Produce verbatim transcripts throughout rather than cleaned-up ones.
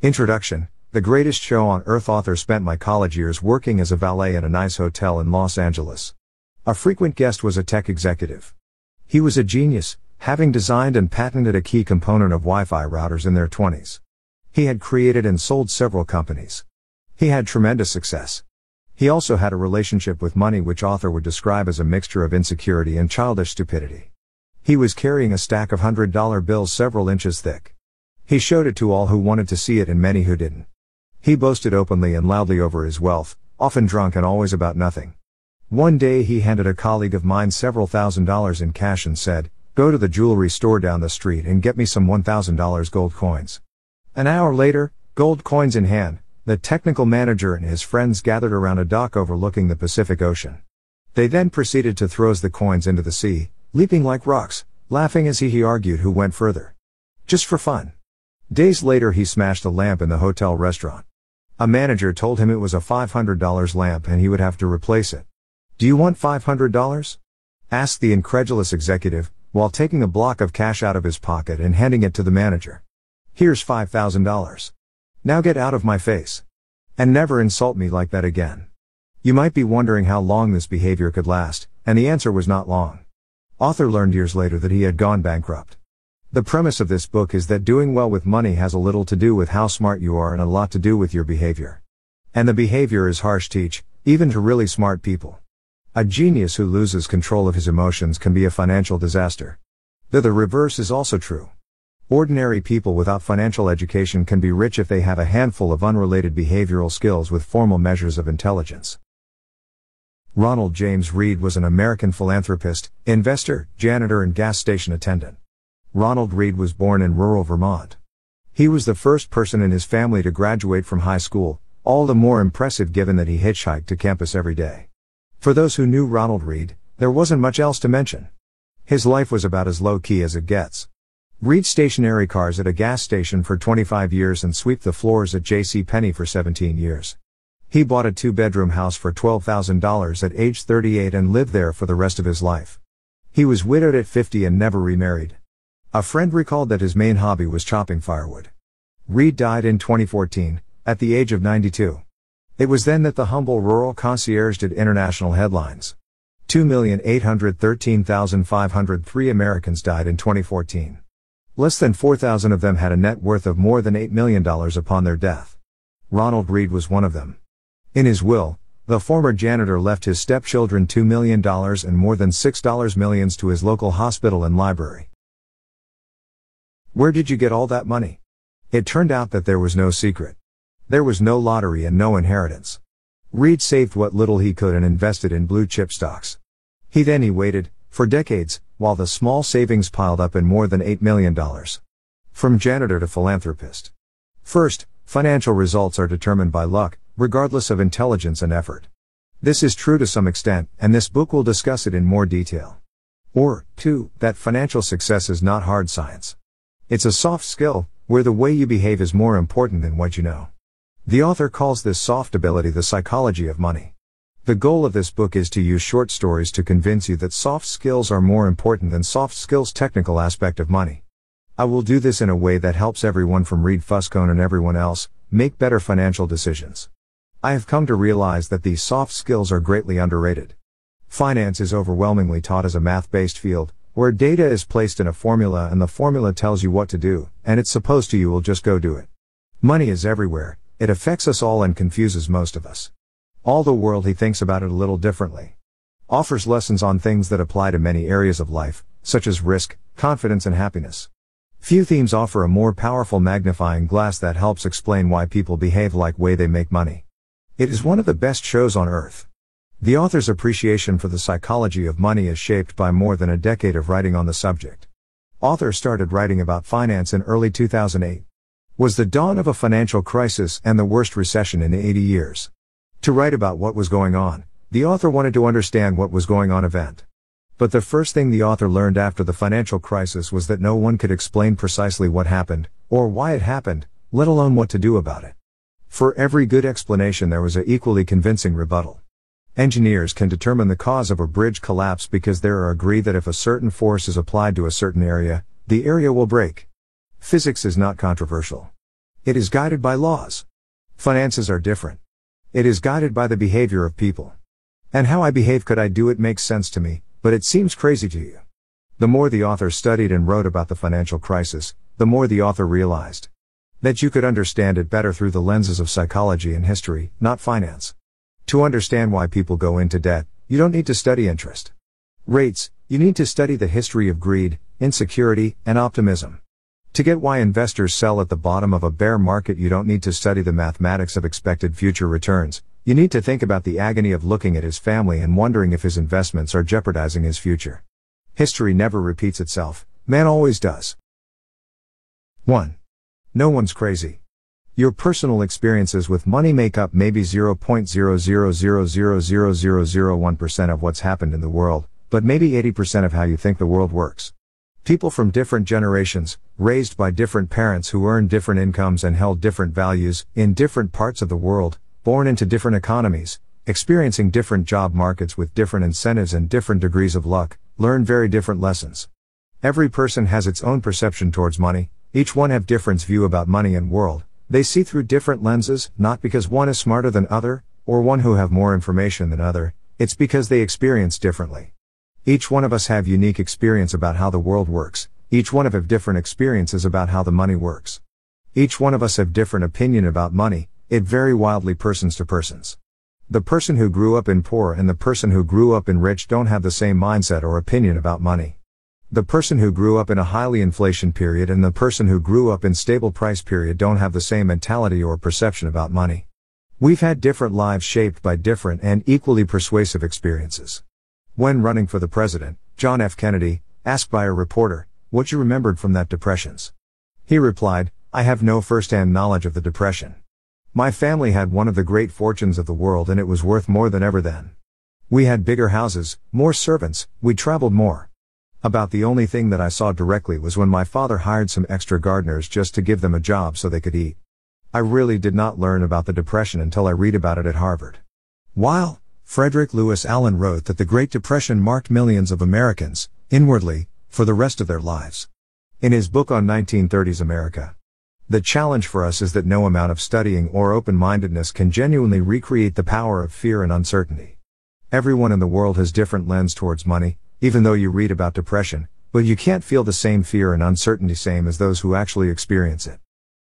Introduction. The Greatest Show on Earth. Author spent my college years working as a valet at a nice hotel in Los Angeles. A frequent guest was a tech executive. He was a genius, having designed and patented a key component of Wi-Fi routers in their twenties. He had created and sold several companies. He had tremendous success. He also had a relationship with money which author would describe as a mixture of insecurity and childish stupidity. He was carrying a stack of one hundred dollar bills several inches thick. He showed it to all who wanted to see it and many who didn't. He boasted openly and loudly over his wealth, often drunk and always about nothing. One day he handed a colleague of mine several thousand dollars in cash and said, "Go to the jewelry store down the street and get me some one thousand dollar gold coins." An hour later, gold coins in hand, the technical manager and his friends gathered around a dock overlooking the Pacific Ocean. They then proceeded to throw the coins into the sea, leaping like rocks, laughing as he, he argued who went further. Just for fun. Days later he smashed a lamp in the hotel restaurant. A manager told him it was a five hundred dollar lamp and he would have to replace it. "Do you want five hundred dollars? Asked the incredulous executive, while taking a block of cash out of his pocket and handing it to the manager. "Here's five thousand dollars. Now get out of my face. And never insult me like that again." You might be wondering how long this behavior could last, and the answer was not long. Author learned years later that he had gone bankrupt. The premise of this book is that doing well with money has a little to do with how smart you are and a lot to do with your behavior. And the behavior is harsh teach, even to really smart people. A genius who loses control of his emotions can be a financial disaster. Though the reverse is also true. Ordinary people without financial education can be rich if they have a handful of unrelated behavioral skills with formal measures of intelligence. Ronald James Read was an American philanthropist, investor, janitor and gas station attendant. Ronald Read was born in rural Vermont. He was the first person in his family to graduate from high school, all the more impressive given that he hitchhiked to campus every day. For those who knew Ronald Read, there wasn't much else to mention. His life was about as low-key as it gets. Read stationary cars at a gas station for twenty-five years and sweep the floors at J C Penney for seventeen years. He bought a two-bedroom house for twelve thousand dollars at age thirty-eight and lived there for the rest of his life. He was widowed at fifty and never remarried. A friend recalled that his main hobby was chopping firewood. Read died in twenty fourteen, at the age of ninety-two. It was then that the humble rural concierge did international headlines. two million eight hundred thirteen thousand five hundred three Americans died in twenty fourteen. Less than four thousand of them had a net worth of more than eight million dollars upon their death. Ronald Read was one of them. In his will, the former janitor left his stepchildren two million dollars and more than six millions to his local hospital and library. Where did you get all that money? It turned out that there was no secret. There was no lottery and no inheritance. Read saved what little he could and invested in blue chip stocks. He then he waited, for decades, while the small savings piled up in more than eight million dollars. From janitor to philanthropist. First, financial results are determined by luck, regardless of intelligence and effort. This is true to some extent, and this book will discuss it in more detail. Or, two, that financial success is not hard science. It's a soft skill, where the way you behave is more important than what you know. The author calls this soft ability the psychology of money. The goal of this book is to use short stories to convince you that soft skills are more important than soft skills' technical aspect of money. I will do this in a way that helps everyone from Read Fuscone and everyone else make better financial decisions. I have come to realize that these soft skills are greatly underrated. Finance is overwhelmingly taught as a math-based field, where data is placed in a formula and the formula tells you what to do, and it's supposed to you will just go do it. Money is everywhere, it affects us all and confuses most of us. All the world he thinks about it a little differently. Offers lessons on things that apply to many areas of life, such as risk, confidence and happiness. Few themes offer a more powerful magnifying glass that helps explain why people behave like way they make money. It is one of the best shows on earth. The author's appreciation for the psychology of money is shaped by more than a decade of writing on the subject. Author started writing about finance in early two thousand eight. Was the dawn of a financial crisis and the worst recession in eighty years. To write about what was going on, the author wanted to understand what was going on event. But the first thing the author learned after the financial crisis was that no one could explain precisely what happened, or why it happened, let alone what to do about it. For every good explanation there was an equally convincing rebuttal. Engineers can determine the cause of a bridge collapse because they are agreed that if a certain force is applied to a certain area, the area will break. Physics is not controversial. It is guided by laws. Finances are different. It is guided by the behavior of people. And how I behave could I do it makes sense to me, but it seems crazy to you. The more the author studied and wrote about the financial crisis, the more the author realized that you could understand it better through the lenses of psychology and history, not finance. To understand why people go into debt, you don't need to study interest rates, you need to study the history of greed, insecurity, and optimism. To get why investors sell at the bottom of a bear market, you don't need to study the mathematics of expected future returns, you need to think about the agony of looking at his family and wondering if his investments are jeopardizing his future. History never repeats itself, man always does. one. No one's crazy. Your personal experiences with money make up maybe zero point zero zero zero zero zero zero zero one percent of what's happened in the world, but maybe eighty percent of how you think the world works. People from different generations, raised by different parents who earned different incomes and held different values, in different parts of the world, born into different economies, experiencing different job markets with different incentives and different degrees of luck, learn very different lessons. Every person has its own perception towards money, each one have different view about money and world, they see through different lenses, not because one is smarter than other, or one who have more information than other, it's because they experience differently. Each one of us have unique experience about how the world works, each one of have different experiences about how the money works. Each one of us have different opinion about money, it vary wildly persons to persons. The person who grew up in poor and the person who grew up in rich don't have the same mindset or opinion about money. The person who grew up in a highly inflation period and the person who grew up in stable price period don't have the same mentality or perception about money. We've had different lives shaped by different and equally persuasive experiences. When running for the president, John F. Kennedy, asked by a reporter, what you remembered from that depressions. He replied, I have no first-hand knowledge of the depression. My family had one of the great fortunes of the world and it was worth more than ever then. We had bigger houses, more servants, we traveled more. About the only thing that I saw directly was when my father hired some extra gardeners just to give them a job so they could eat. I really did not learn about the depression until I read about it at Harvard. While Frederick Lewis Allen wrote that the Great Depression marked millions of Americans, inwardly, for the rest of their lives. In his book on nineteen thirties America. The challenge for us is that no amount of studying or open-mindedness can genuinely recreate the power of fear and uncertainty. Everyone in the world has different lens towards money, even though you read about depression, but you can't feel the same fear and uncertainty same as those who actually experience it.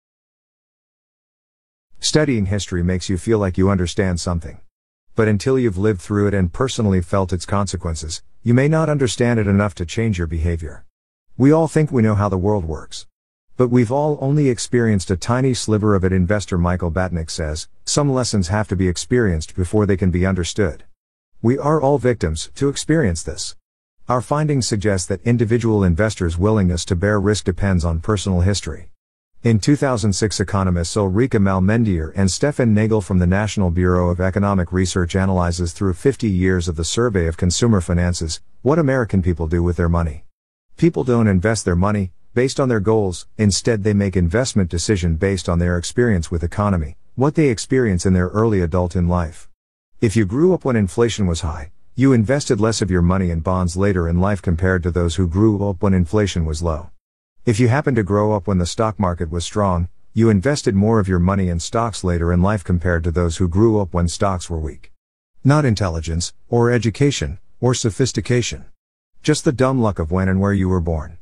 Studying history makes you feel like you understand something. But until you've lived through it and personally felt its consequences, you may not understand it enough to change your behavior. We all think we know how the world works. But we've all only experienced a tiny sliver of it. Investor Michael Batnick says, some lessons have to be experienced before they can be understood. We are all victims to experience this. Our findings suggest that individual investors' willingness to bear risk depends on personal history. In two thousand six, economists Ulrike Malmendier and Stefan Nagel from the National Bureau of Economic Research analyzes through fifty years of the survey of consumer finances, what American people do with their money. People don't invest their money based on their goals, instead they make investment decision based on their experience with economy, what they experience in their early adult in life. If you grew up when inflation was high, you invested less of your money in bonds later in life compared to those who grew up when inflation was low. If you happened to grow up when the stock market was strong, you invested more of your money in stocks later in life compared to those who grew up when stocks were weak. Not intelligence, or education, or sophistication. Just the dumb luck of when and where you were born.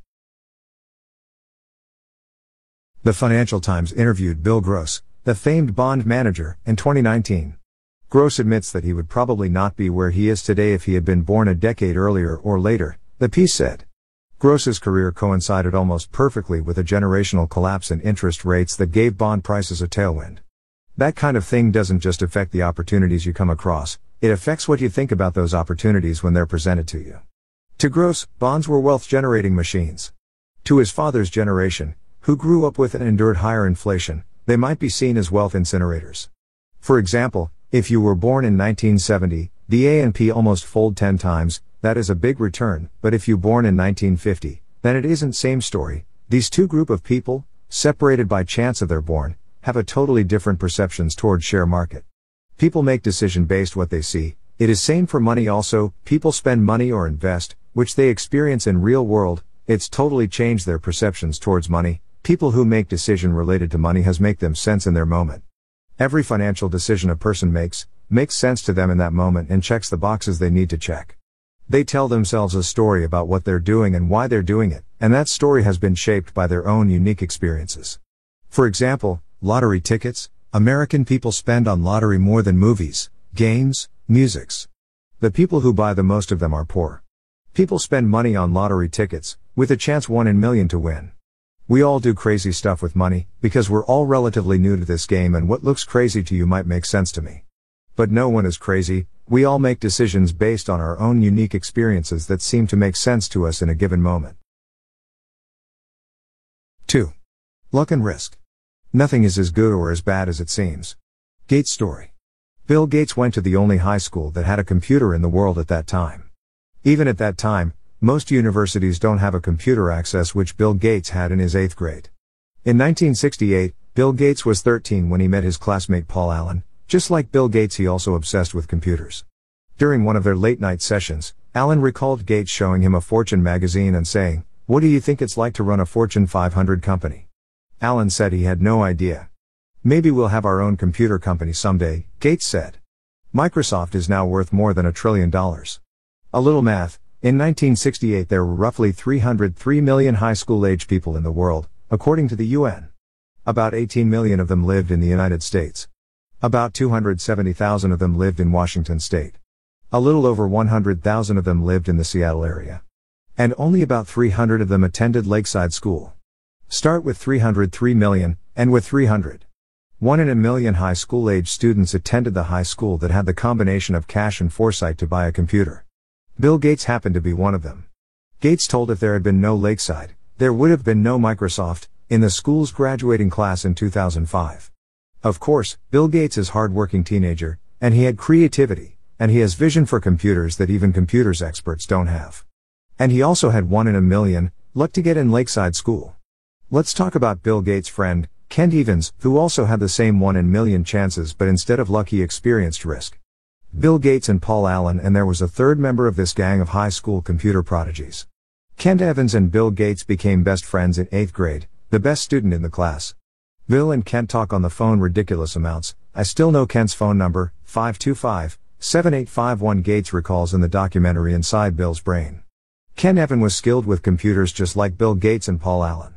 The Financial Times interviewed Bill Gross, the famed bond manager, in twenty nineteen. Gross admits that he would probably not be where he is today if he had been born a decade earlier or later, the piece said. Gross's career coincided almost perfectly with a generational collapse in interest rates that gave bond prices a tailwind. That kind of thing doesn't just affect the opportunities you come across, it affects what you think about those opportunities when they're presented to you. To Gross, bonds were wealth-generating machines. To his father's generation, who grew up with and endured higher inflation, they might be seen as wealth incinerators. For example, if you were born in nineteen seventy, the A and P almost fold ten times, that is a big return, but if you born in nineteen fifty, then it isn't same story. These two group of people, separated by chance of their born, have a totally different perceptions towards share market. People make decision based what they see. It is same for money also, people spend money or invest, which they experience in real world, it's totally changed their perceptions towards money, People who make decision related to money has make them sense in their moment. Every financial decision a person makes, makes sense to them in that moment and checks the boxes they need to check. They tell themselves a story about what they're doing and why they're doing it, and that story has been shaped by their own unique experiences. For example, lottery tickets. American people spend on lottery more than movies, games, musics. The people who buy the most of them are poor. People spend money on lottery tickets, with a chance one in a million to win. We all do crazy stuff with money, because we're all relatively new to this game and what looks crazy to you might make sense to me. But no one is crazy, we all make decisions based on our own unique experiences that seem to make sense to us in a given moment. two. Luck and risk. Nothing is as good or as bad as it seems. Gates story. Bill Gates went to the only high school that had a computer in the world at that time. Even at that time, most universities don't have a computer access, which Bill Gates had in his eighth grade. In nineteen sixty-eight, Bill Gates was thirteen when he met his classmate Paul Allen. Just like Bill Gates, he also obsessed with computers. During one of their late-night sessions, Allen recalled Gates showing him a Fortune magazine and saying, "What do you think it's like to run a Fortune five hundred company?" Allen said he had no idea. "Maybe we'll have our own computer company someday," Gates said. Microsoft is now worth more than a trillion dollars. A little math. In nineteen sixty-eight there were roughly three hundred three million high school-age people in the world, according to the U N. About eighteen million of them lived in the United States. About two hundred seventy thousand of them lived in Washington state. A little over one hundred thousand of them lived in the Seattle area. And only about three hundred of them attended Lakeside School. Start with three hundred three million, and with three hundred. One in a million high school-age students attended the high school that had the combination of cash and foresight to buy a computer. Bill Gates happened to be one of them. Gates told if there had been no Lakeside, there would have been no Microsoft, in the school's graduating class in two thousand five. Of course, Bill Gates is a hard-working teenager, and he had creativity, and he has vision for computers that even computers experts don't have. And he also had one in a million, luck to get in Lakeside School. Let's talk about Bill Gates' friend, Kent Evans, who also had the same one in a million chances, but instead of luck he experienced risk. Bill Gates and Paul Allen, and there was a third member of this gang of high school computer prodigies. Kent Evans and Bill Gates became best friends in eighth grade, the best student in the class. Bill and Kent talk on the phone ridiculous amounts. I still know Kent's phone number, five two five, seven eight five one, Gates recalls in the documentary Inside Bill's Brain. Kent Evans was skilled with computers just like Bill Gates and Paul Allen.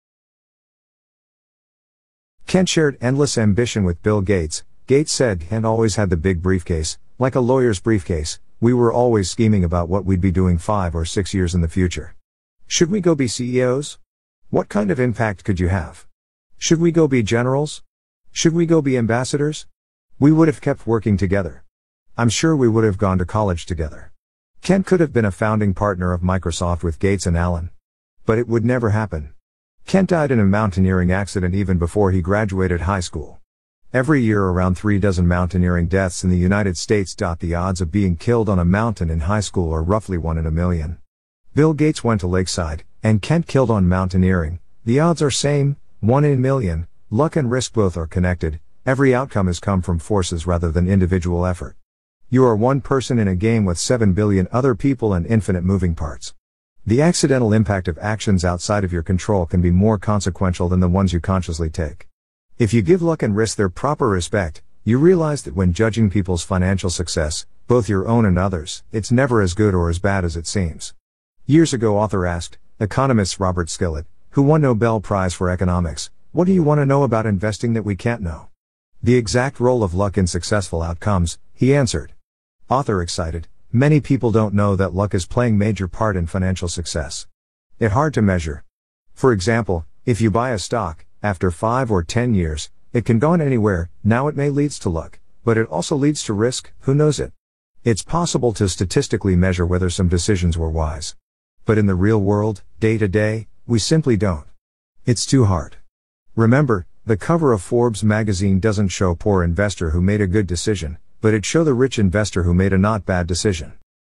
Kent shared endless ambition with Bill Gates. Gates said Kent always had the big briefcase, like a lawyer's briefcase. We were always scheming about what we'd be doing five or six years in the future. Should we go be C E Os? What kind of impact could you have? Should we go be generals? Should we go be ambassadors? We would have kept working together. I'm sure we would have gone to college together. Kent could have been a founding partner of Microsoft with Gates and Allen. But it would never happen. Kent died in a mountaineering accident even before he graduated high school. Every year around three dozen mountaineering deaths in the United States. The odds of being killed on a mountain in high school are roughly one in a million. Bill Gates went to Lakeside, and Kent killed on mountaineering. The odds are same, one in a million. Luck and risk both are connected. Every outcome has come from forces rather than individual effort. You are one person in a game with seven billion other people and infinite moving parts. The accidental impact of actions outside of your control can be more consequential than the ones you consciously take. If you give luck and risk their proper respect, you realize that when judging people's financial success, both your own and others, it's never as good or as bad as it seems. Years ago, author asked economist Robert Skillet, who won Nobel Prize for Economics, "What do you want to know about investing that we can't know?" The exact role of luck in successful outcomes, he answered. Author excited, many people don't know that luck is playing major part in financial success. It's hard to measure. For example, if you buy a stock, after five or ten years, it can go on anywhere. Now it may leads to luck, but it also leads to risk, who knows it? It's possible to statistically measure whether some decisions were wise. But in the real world, day to day, we simply don't. It's too hard. Remember, the cover of Forbes magazine doesn't show poor investor who made a good decision, but it shows the rich investor who made a not bad decision.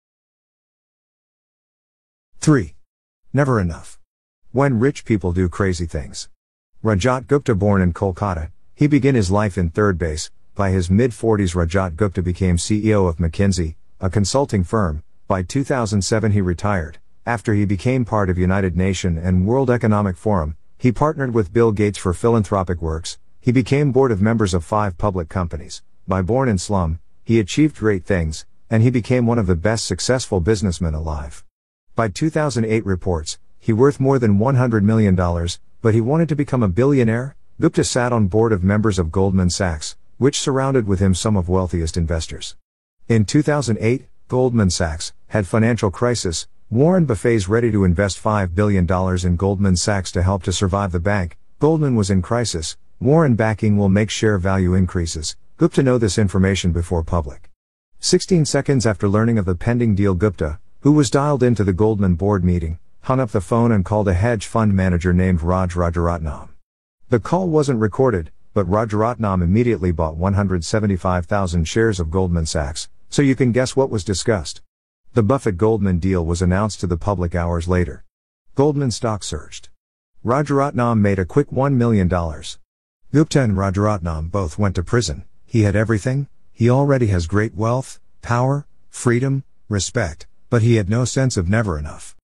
three. Never enough. When rich people do crazy things. Rajat Gupta, born in Kolkata, he began his life in third base. By his mid-forties, Rajat Gupta became C E O of McKinsey, a consulting firm. By two thousand seven he retired. After he became part of United Nations and World Economic Forum, He partnered with Bill Gates for philanthropic works. He became board of members of five public companies. By born in slum, he achieved great things, and he became one of the best successful businessmen alive. By two thousand eight reports, he worth more than one hundred million dollars, but he wanted to become a billionaire. Gupta sat on board of members of Goldman Sachs, which surrounded with him some of wealthiest investors. In two thousand eight, Goldman Sachs had financial crisis. Warren Buffett's ready to invest five billion dollars in Goldman Sachs to help to survive the bank. Goldman was in crisis. Warren backing will make share value increases. Gupta know this information before public. sixteen seconds after learning of the pending deal, Gupta, who was dialed into the Goldman board meeting, hung up the phone and called a hedge fund manager named Raj Rajaratnam. The call wasn't recorded, but Rajaratnam immediately bought one hundred seventy-five thousand shares of Goldman Sachs, so you can guess what was discussed. The Buffett-Goldman deal was announced to the public hours later. Goldman stock surged. Rajaratnam made a quick one million dollars. Gupta and Rajaratnam both went to prison. He had everything. He already has great wealth, power, freedom, respect, but he had no sense of never enough.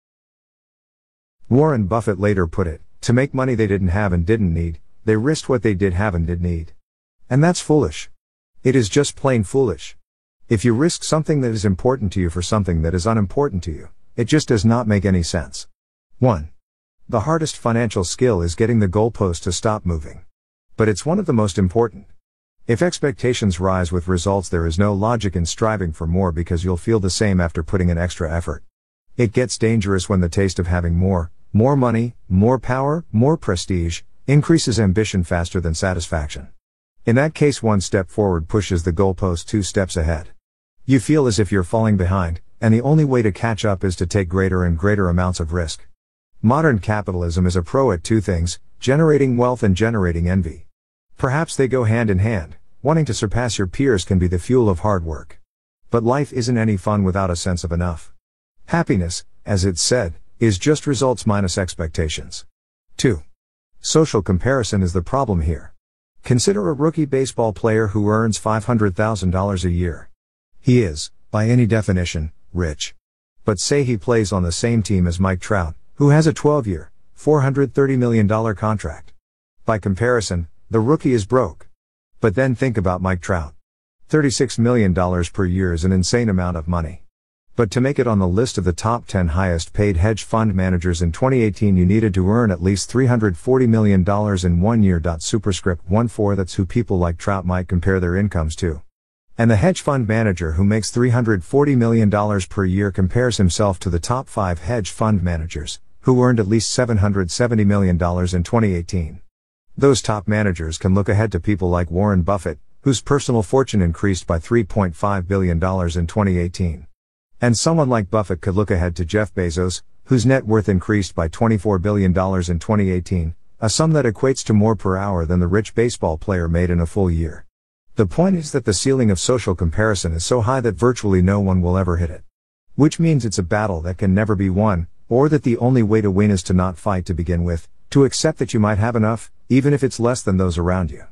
Warren Buffett later put it, to make money they didn't have and didn't need, they risked what they did have and did need. And that's foolish. It is just plain foolish. If you risk something that is important to you for something that is unimportant to you, it just does not make any sense. one. The hardest financial skill is getting the goalpost to stop moving. But it's one of the most important. If expectations rise with results, there is no logic in striving for more because you'll feel the same after putting in extra effort. It gets dangerous when the taste of having more, more money, more power, more prestige, increases ambition faster than satisfaction. In that case, one step forward pushes the goalpost two steps ahead. You feel as if you're falling behind, and the only way to catch up is to take greater and greater amounts of risk. Modern capitalism is a pro at two things, generating wealth and generating envy. Perhaps they go hand in hand. Wanting to surpass your peers can be the fuel of hard work. But life isn't any fun without a sense of enough. Happiness, as it's said, is just results minus expectations. two. Social comparison is the problem here. Consider a rookie baseball player who earns five hundred thousand dollars a year. He is, by any definition, rich. But say he plays on the same team as Mike Trout, who has a twelve-year, four hundred thirty million dollars contract. By comparison, the rookie is broke. But then think about Mike Trout. thirty-six million dollars per year is an insane amount of money. But to make it on the list of the top ten highest paid hedge fund managers in twenty eighteen, you needed to earn at least three hundred forty million dollars in one year. Superscript one four That's who people like Trout might compare their incomes to. And the hedge fund manager who makes three hundred forty million dollars per year compares himself to the top five hedge fund managers, who earned at least seven hundred seventy million dollars in twenty eighteen. Those top managers can look ahead to people like Warren Buffett, whose personal fortune increased by three point five billion dollars in twenty eighteen. And someone like Buffett could look ahead to Jeff Bezos, whose net worth increased by twenty-four billion dollars in twenty eighteen, a sum that equates to more per hour than the rich baseball player made in a full year. The point is that the ceiling of social comparison is so high that virtually no one will ever hit it. Which means it's a battle that can never be won, or that the only way to win is to not fight to begin with, to accept that you might have enough, even if it's less than those around you.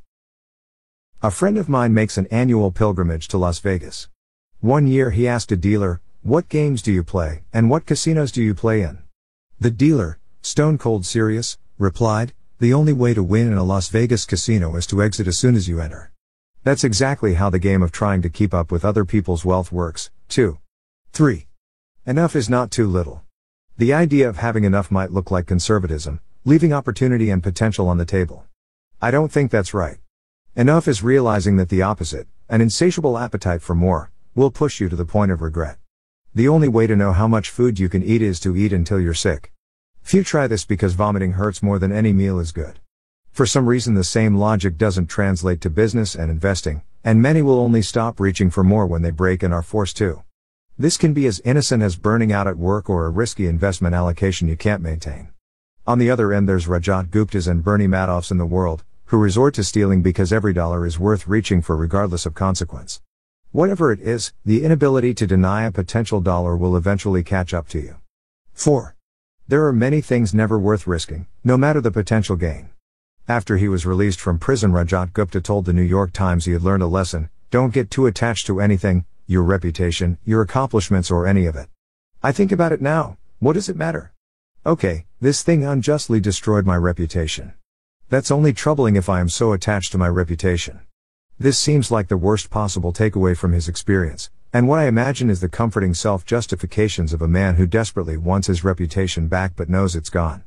A friend of mine makes an annual pilgrimage to Las Vegas. One year he asked a dealer, "What games do you play, and what casinos do you play in?" The dealer, stone cold serious, replied, "The only way to win in a Las Vegas casino is to exit as soon as you enter." That's exactly how the game of trying to keep up with other people's wealth works. two. three. Enough is not too little. The idea of having enough might look like conservatism, leaving opportunity and potential on the table. I don't think that's right. Enough is realizing that the opposite, an insatiable appetite for more, will push you to the point of regret. The only way to know how much food you can eat is to eat until you're sick. Few try this because vomiting hurts more than any meal is good. For some reason the same logic doesn't translate to business and investing, and many will only stop reaching for more when they break and are forced to. This can be as innocent as burning out at work or a risky investment allocation you can't maintain. On the other end there's Rajat Guptas and Bernie Madoffs in the world, who resort to stealing because every dollar is worth reaching for regardless of consequence. Whatever it is, the inability to deny a potential dollar will eventually catch up to you. four. There are many things never worth risking, no matter the potential gain. After he was released from prison, Rajat Gupta told the New York Times he had learned a lesson: don't get too attached to anything, your reputation, your accomplishments or any of it. I think about it now, what does it matter? Okay, this thing unjustly destroyed my reputation. That's only troubling if I am so attached to my reputation. This seems like the worst possible takeaway from his experience, and what I imagine is the comforting self-justifications of a man who desperately wants his reputation back but knows it's gone.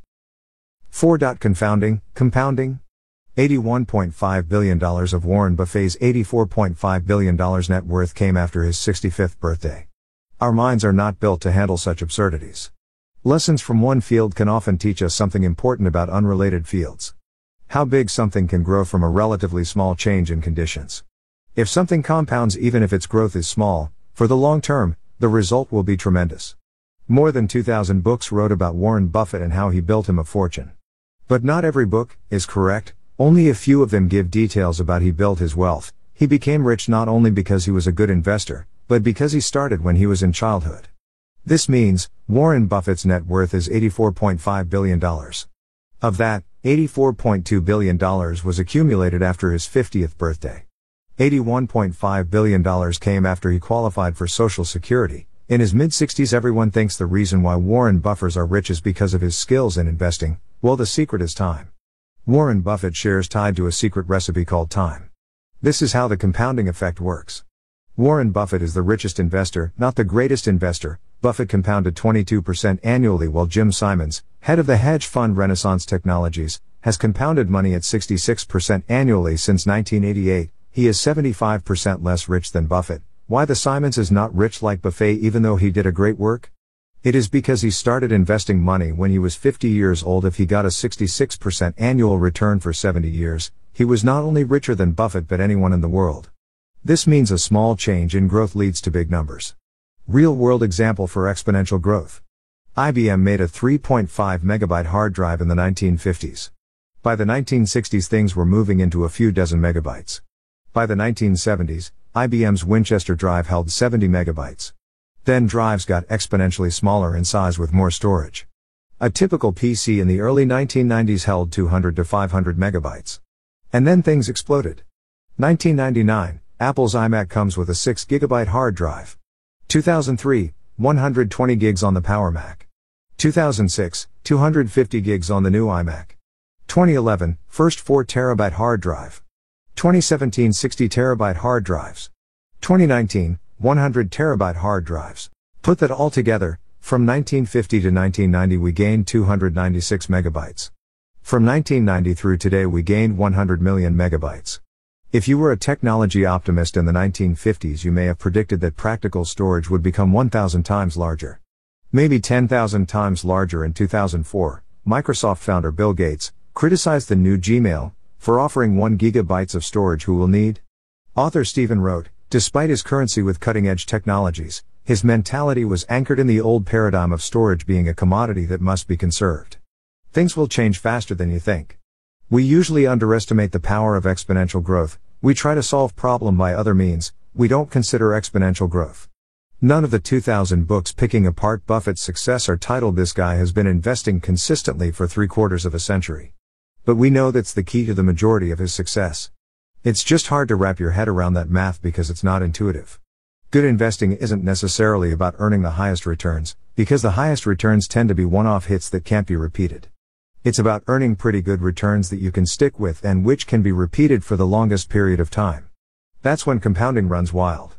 four. Confounding, compounding? eighty-one point five billion dollars of Warren Buffett's eighty-four point five billion dollars net worth came after his sixty-fifth birthday. Our minds are not built to handle such absurdities. Lessons from one field can often teach us something important about unrelated fields. How big something can grow from a relatively small change in conditions. If something compounds even if its growth is small, for the long term, the result will be tremendous. More than two thousand books wrote about Warren Buffett and how he built him a fortune. But not every book is correct, only a few of them give details about how he built his wealth. He became rich not only because he was a good investor, but because he started when he was in childhood. This means, Warren Buffett's net worth is eighty-four point five billion dollars. Of that, eighty-four point two billion dollars was accumulated after his fiftieth birthday. eighty-one point five billion dollars came after he qualified for Social Security. In his mid-sixties, everyone thinks the reason why Warren Buffett are rich is because of his skills in investing. Well, the secret is time. Warren Buffett shares tied to a secret recipe called time. This is how the compounding effect works. Warren Buffett is the richest investor, not the greatest investor. Buffett compounded twenty-two percent annually while Jim Simons, head of the hedge fund Renaissance Technologies, has compounded money at sixty-six percent annually since nineteen eighty-eight. He is seventy-five percent less rich than Buffett. Why the Simons is not rich like Buffett even though he did a great work? It is because he started investing money when he was fifty years old. If he got a sixty-six percent annual return for seventy years, he was not only richer than Buffett but anyone in the world. This means a small change in growth leads to big numbers. Real-world example for exponential growth. I B M made a three point five megabyte hard drive in the nineteen fifties. By the nineteen sixties things were moving into a few dozen megabytes. By the nineteen seventies, I B M's Winchester drive held seventy megabytes. Then drives got exponentially smaller in size with more storage. A typical P C in the early nineteen nineties held two hundred to five hundred megabytes. And then things exploded. nineteen ninety-nine, Apple's iMac comes with a six gigabyte hard drive. two thousand three, one hundred twenty gigs on the Power Mac. two thousand six, two hundred fifty gigs on the new iMac. twenty eleven, first four terabyte hard drive. twenty seventeen, sixty terabyte hard drives. twenty nineteen, one hundred terabyte hard drives. Put that all together, from nineteen fifty to nineteen ninety we gained two hundred ninety-six megabytes. From nineteen ninety through today we gained one hundred million megabytes. If you were a technology optimist in the nineteen fifties you may have predicted that practical storage would become one thousand times larger. Maybe ten thousand times larger. In two thousand four, Microsoft founder Bill Gates criticized the new Gmail for offering one gigabyte of storage. Who will need? Author Stephen wrote, despite his currency with cutting-edge technologies, his mentality was anchored in the old paradigm of storage being a commodity that must be conserved. Things will change faster than you think. We usually underestimate the power of exponential growth. We try to solve problem by other means. We don't consider exponential growth. None of the two thousand books picking apart Buffett's success are titled "This guy has been investing consistently for three quarters of a century." But we know that's the key to the majority of his success. It's just hard to wrap your head around that math because it's not intuitive. Good investing isn't necessarily about earning the highest returns, because the highest returns tend to be one-off hits that can't be repeated. It's about earning pretty good returns that you can stick with and which can be repeated for the longest period of time. That's when compounding runs wild.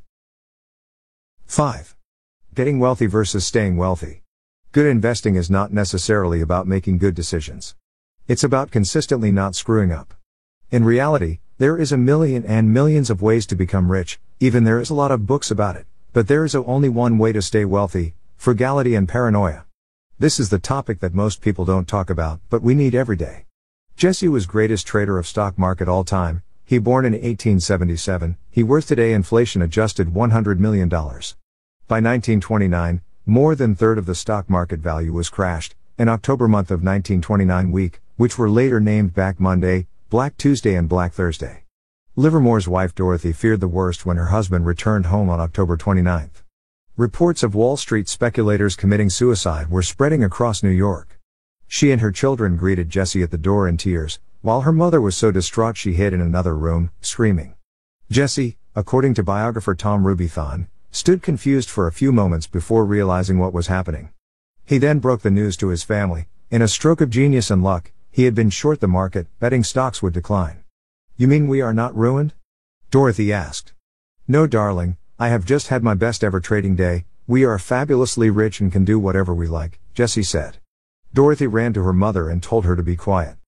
five. Getting wealthy versus staying wealthy. Good investing is not necessarily about making good decisions. It's about consistently not screwing up. In reality, there is a million and millions of ways to become rich, even there is a lot of books about it, but there is only one way to stay wealthy: frugality and paranoia. This is the topic that most people don't talk about, but we need every day. Jesse was greatest trader of stock market all time. He born in eighteen seventy-seven, he worth today inflation adjusted one hundred million dollars. By nineteen twenty-nine, more than third of the stock market value was crashed. In October month of nineteen twenty-nine week, which were later named Black Monday, Black Tuesday and Black Thursday. Livermore's wife Dorothy feared the worst when her husband returned home on October twenty-ninth. Reports of Wall Street speculators committing suicide were spreading across New York. She and her children greeted Jesse at the door in tears, while her mother was so distraught she hid in another room, screaming. Jesse, according to biographer Tom Rubython, stood confused for a few moments before realizing what was happening. He then broke the news to his family. In a stroke of genius and luck, he had been short the market, betting stocks would decline. "You mean we are not ruined?" Dorothy asked. "No, darling, I have just had my best ever trading day. We are fabulously rich and can do whatever we like," Jessie said. Dorothy ran to her mother and told her to be quiet.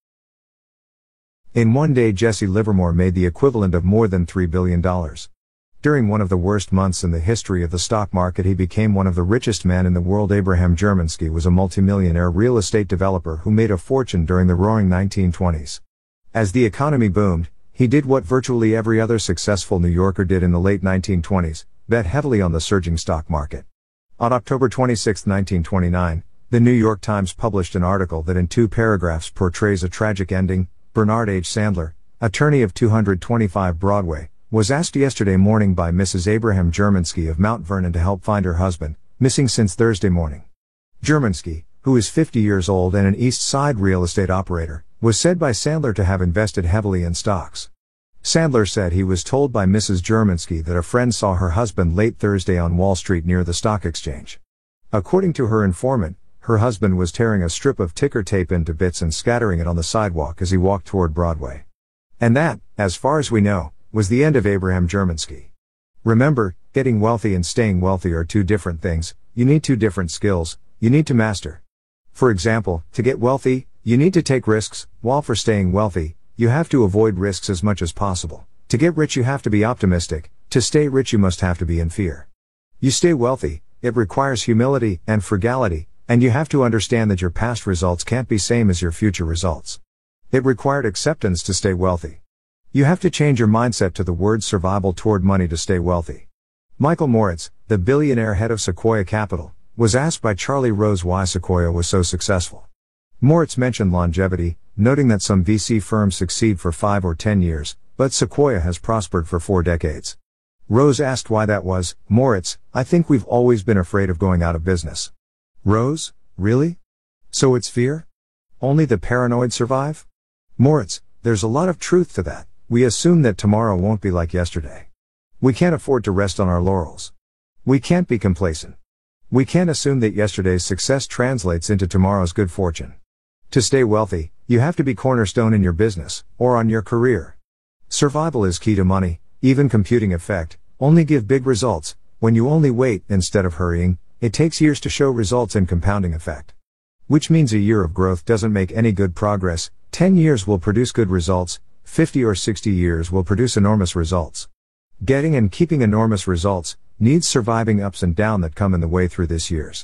In one day, Jesse Livermore made the equivalent of more than three billion dollars. During one of the worst months in the history of the stock market, he became one of the richest men in the world. Abraham Germansky was a multimillionaire real estate developer who made a fortune during the roaring nineteen twenties. As the economy boomed, he did what virtually every other successful New Yorker did in the late nineteen twenties, bet heavily on the surging stock market. On October twenty-sixth, nineteen twenty-nine, the New York Times published an article that in two paragraphs portrays a tragic ending. Bernard H. Sandler, attorney of two twenty-five Broadway, was asked yesterday morning by Missus Abraham Germansky of Mount Vernon to help find her husband, missing since Thursday morning. Germansky, who is fifty years old and an East Side real estate operator, was said by Sandler to have invested heavily in stocks. Sandler said he was told by Missus Germansky that a friend saw her husband late Thursday on Wall Street near the stock exchange. According to her informant, her husband was tearing a strip of ticker tape into bits and scattering it on the sidewalk as he walked toward Broadway. And that, as far as we know, was the end of Abraham Germansky. Remember, getting wealthy and staying wealthy are two different things. You need two different skills you need to master. For example, to get wealthy, you need to take risks, while for staying wealthy, you have to avoid risks as much as possible. To get rich you have to be optimistic, to stay rich you must have to be in fear. You stay wealthy, it requires humility and frugality, and you have to understand that your past results can't be same as your future results. It required acceptance to stay wealthy. You have to change your mindset to the word survival toward money to stay wealthy. Michael Moritz, the billionaire head of Sequoia Capital, was asked by Charlie Rose why Sequoia was so successful. Moritz mentioned longevity, noting that some V C firms succeed for five or ten years, but Sequoia has prospered for four decades. Rose asked why that was. Moritz, "I think we've always been afraid of going out of business." Rose, "Really? So it's fear? Only the paranoid survive?" Moritz, "There's a lot of truth to that. We assume that tomorrow won't be like yesterday. We can't afford to rest on our laurels. We can't be complacent. We can't assume that yesterday's success translates into tomorrow's good fortune. To stay wealthy, you have to be cornerstone in your business, or on your career. Survival is key to money, even computing effect, only give big results. When you only wait, instead of hurrying, it takes years to show results in compounding effect. Which means a year of growth doesn't make any good progress, ten years will produce good results, fifty or sixty years will produce enormous results. Getting and keeping enormous results needs surviving ups and downs that come in the way through this years.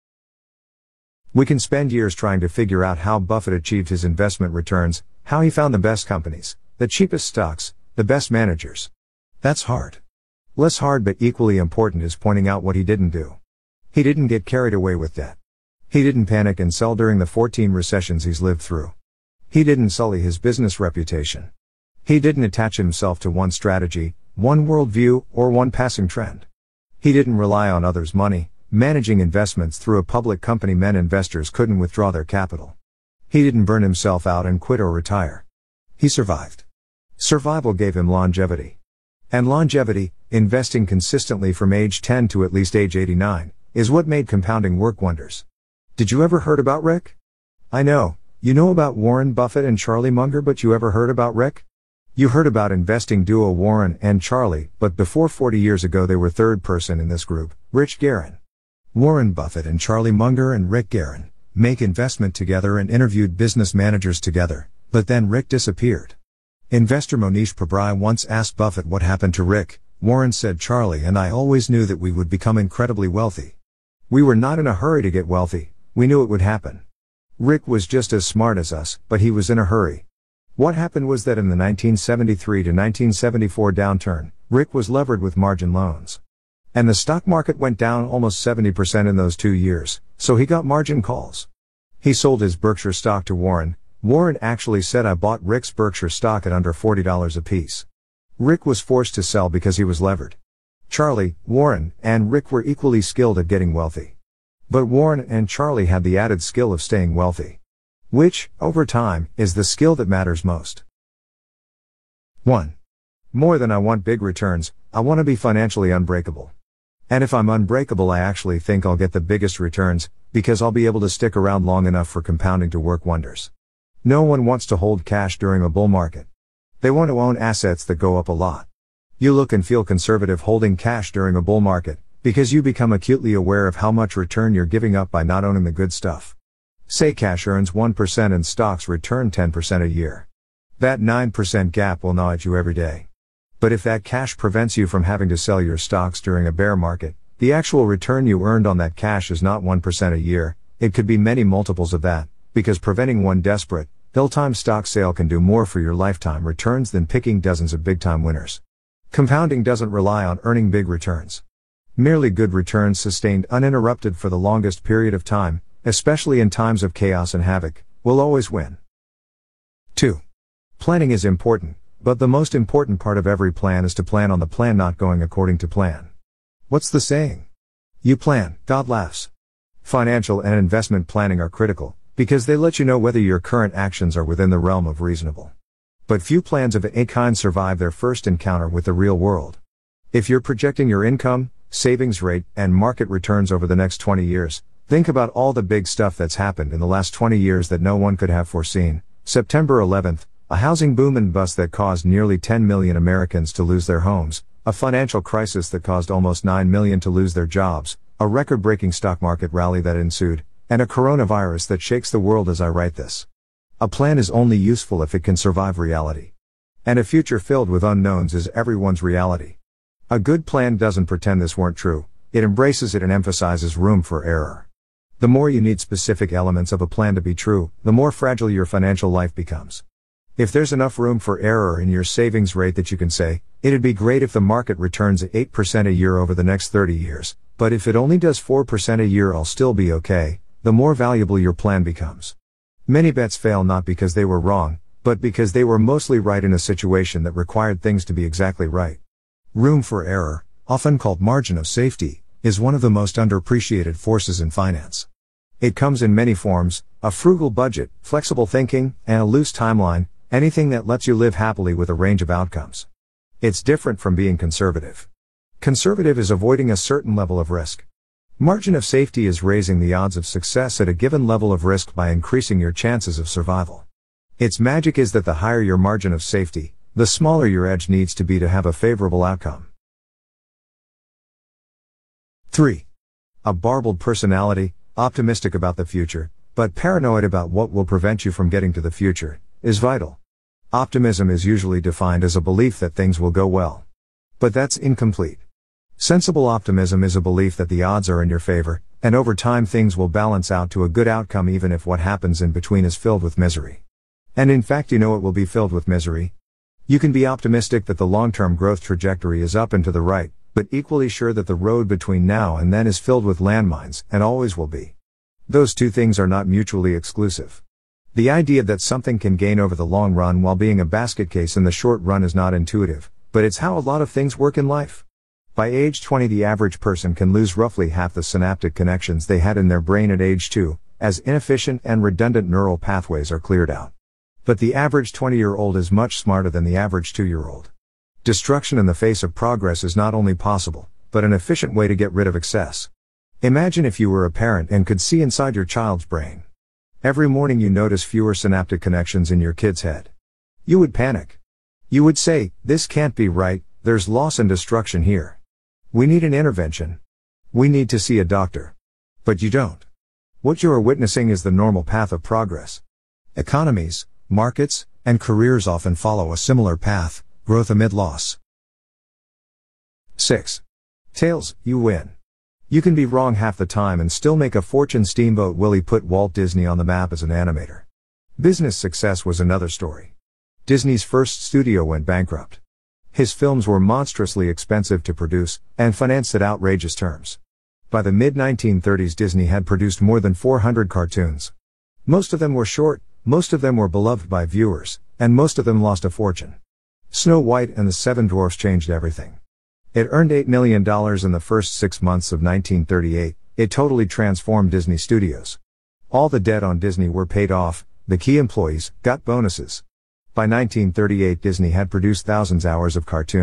We can spend years trying to figure out how Buffett achieved his investment returns, how he found the best companies, the cheapest stocks, the best managers. That's hard. Less hard but equally important is pointing out what he didn't do. He didn't get carried away with debt. He didn't panic and sell during the fourteen recessions he's lived through. He didn't sully his business reputation. He didn't attach himself to one strategy, one worldview, or one passing trend. He didn't rely on others' money, managing investments through a public company meant investors couldn't withdraw their capital. He didn't burn himself out and quit or retire. He survived. Survival gave him longevity. And longevity, investing consistently from age ten to at least age eighty-nine, is what made compounding work wonders. Did you ever heard about Rick? I know, you know about Warren Buffett and Charlie Munger, but you ever heard about Rick? You heard about investing duo Warren and Charlie, but before forty years ago they were third person in this group, Rich Guerin. Warren Buffett and Charlie Munger and Rick Guerin make investment together and interviewed business managers together, but then Rick disappeared. Investor Monish Pabrai once asked Buffett what happened to Rick. Warren said, "Charlie and I always knew that we would become incredibly wealthy. We were not in a hurry to get wealthy, we knew it would happen. Rick was just as smart as us, but he was in a hurry." What happened was that in the nineteen seventy-three to nineteen seventy-four downturn, Rick was levered with margin loans. And the stock market went down almost seventy percent in those two years, so he got margin calls. He sold his Berkshire stock to Warren. Warren actually said, "I bought Rick's Berkshire stock at under forty dollars a piece." Rick was forced to sell because he was levered. Charlie, Warren, and Rick were equally skilled at getting wealthy. But Warren and Charlie had the added skill of staying wealthy. Which, over time, is the skill that matters most. one. More than I want big returns, I want to be financially unbreakable. And if I'm unbreakable, I actually think I'll get the biggest returns, because I'll be able to stick around long enough for compounding to work wonders. No one wants to hold cash during a bull market. They want to own assets that go up a lot. You look and feel conservative holding cash during a bull market, because you become acutely aware of how much return you're giving up by not owning the good stuff. Say cash earns one percent and stocks return ten percent a year. That nine percent gap will gnaw at you every day. But if that cash prevents you from having to sell your stocks during a bear market, the actual return you earned on that cash is not one percent a year, it could be many multiples of that, because preventing one desperate, ill-timed stock sale can do more for your lifetime returns than picking dozens of big-time winners. Compounding doesn't rely on earning big returns. Merely good returns sustained uninterrupted for the longest period of time, especially in times of chaos and havoc, will always win. two. Planning is important, but the most important part of every plan is to plan on the plan not going according to plan. What's the saying? You plan, God laughs. Financial and investment planning are critical, because they let you know whether your current actions are within the realm of reasonable. But few plans of any kind survive their first encounter with the real world. If you're projecting your income, savings rate, and market returns over the next twenty years, think about all the big stuff that's happened in the last twenty years that no one could have foreseen. September eleventh, a housing boom and bust that caused nearly ten million Americans to lose their homes, a financial crisis that caused almost nine million to lose their jobs, a record-breaking stock market rally that ensued, and a coronavirus that shakes the world as I write this. A plan is only useful if it can survive reality. And a future filled with unknowns is everyone's reality. A good plan doesn't pretend this weren't true, it embraces it and emphasizes room for error. The more you need specific elements of a plan to be true, the more fragile your financial life becomes. If there's enough room for error in your savings rate that you can say, it'd be great if the market returns at eight percent a year over the next thirty years, but if it only does four percent a year I'll still be okay, the more valuable your plan becomes. Many bets fail not because they were wrong, but because they were mostly right in a situation that required things to be exactly right. Room for error, often called margin of safety, is one of the most underappreciated forces in finance. It comes in many forms: a frugal budget, flexible thinking, and a loose timeline, anything that lets you live happily with a range of outcomes. It's different from being conservative. Conservative is avoiding a certain level of risk. Margin of safety is raising the odds of success at a given level of risk by increasing your chances of survival. Its magic is that the higher your margin of safety, the smaller your edge needs to be to have a favorable outcome. three. A barbed personality, optimistic about the future, but paranoid about what will prevent you from getting to the future, is vital. Optimism is usually defined as a belief that things will go well. But that's incomplete. Sensible optimism is a belief that the odds are in your favor, and over time things will balance out to a good outcome even if what happens in between is filled with misery. And in fact you know it will be filled with misery. You can be optimistic that the long-term growth trajectory is up and to the right, but equally sure that the road between now and then is filled with landmines, and always will be. Those two things are not mutually exclusive. The idea that something can gain over the long run while being a basket case in the short run is not intuitive, but it's how a lot of things work in life. By age twenty the average person can lose roughly half the synaptic connections they had in their brain at age two, as inefficient and redundant neural pathways are cleared out. But the average twenty-year-old is much smarter than the average two-year-old. Destruction in the face of progress is not only possible, but an efficient way to get rid of excess. Imagine if you were a parent and could see inside your child's brain. Every morning you notice fewer synaptic connections in your kid's head. You would panic. You would say, "This can't be right, there's loss and destruction here. We need an intervention. We need to see a doctor." But you don't. What you are witnessing is the normal path of progress. Economies, markets, and careers often follow a similar path: growth amid loss. six. Tails, you win. You can be wrong half the time and still make a fortune. Steamboat Willie put Walt Disney on the map as an animator. Business success was another story. Disney's first studio went bankrupt. His films were monstrously expensive to produce, and financed at outrageous terms. By the mid nineteen thirties Disney had produced more than four hundred cartoons. Most of them were short, most of them were beloved by viewers, and most of them lost a fortune. Snow White and the Seven Dwarfs changed everything. It earned eight million dollars in the first six months of nineteen thirty-eight, it totally transformed Disney Studios. All the debt on Disney were paid off, the key employees got bonuses. By nineteen thirty-eight Disney had produced thousands of hours of cartoon,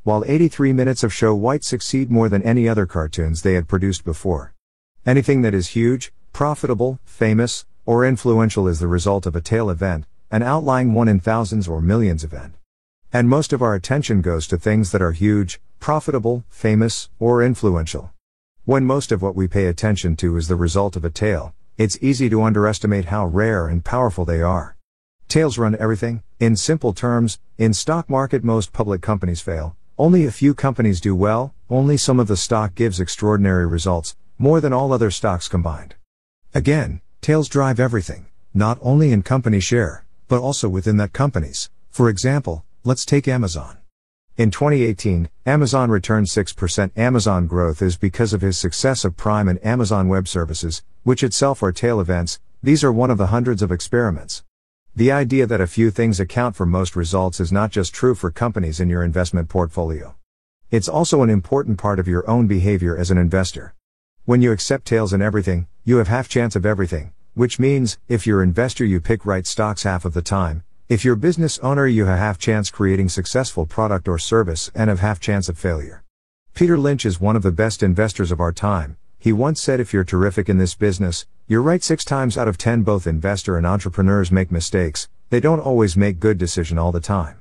while eighty-three minutes of show white succeed more than any other cartoons they had produced before. Anything that is huge, profitable, famous, or influential is the result of a tail event, an outlying one in thousands or millions event. And most of our attention goes to things that are huge, profitable, famous, or influential. When most of what we pay attention to is the result of a tail, it's easy to underestimate how rare and powerful they are. Tails run everything. In simple terms, in stock market most public companies fail, only a few companies do well, only some of the stock gives extraordinary results, more than all other stocks combined. Again, tails drive everything, not only in company share, but also within that companies. For example, let's take Amazon. In twenty eighteen, Amazon returned six percent. Amazon growth is because of his success of Prime and Amazon Web Services, which itself are tail events. These are one of the hundreds of experiments. The idea that a few things account for most results is not just true for companies in your investment portfolio. It's also an important part of your own behavior as an investor. When you accept tails in everything, you have half chance of everything, which means, if you're investor you pick right stocks half of the time. If you're business owner you have half chance creating successful product or service and have half chance of failure. Peter Lynch is one of the best investors of our time. He once said if you're terrific in this business, you're right six times out of ten. Both investor and entrepreneurs make mistakes, they don't always make good decisions all the time.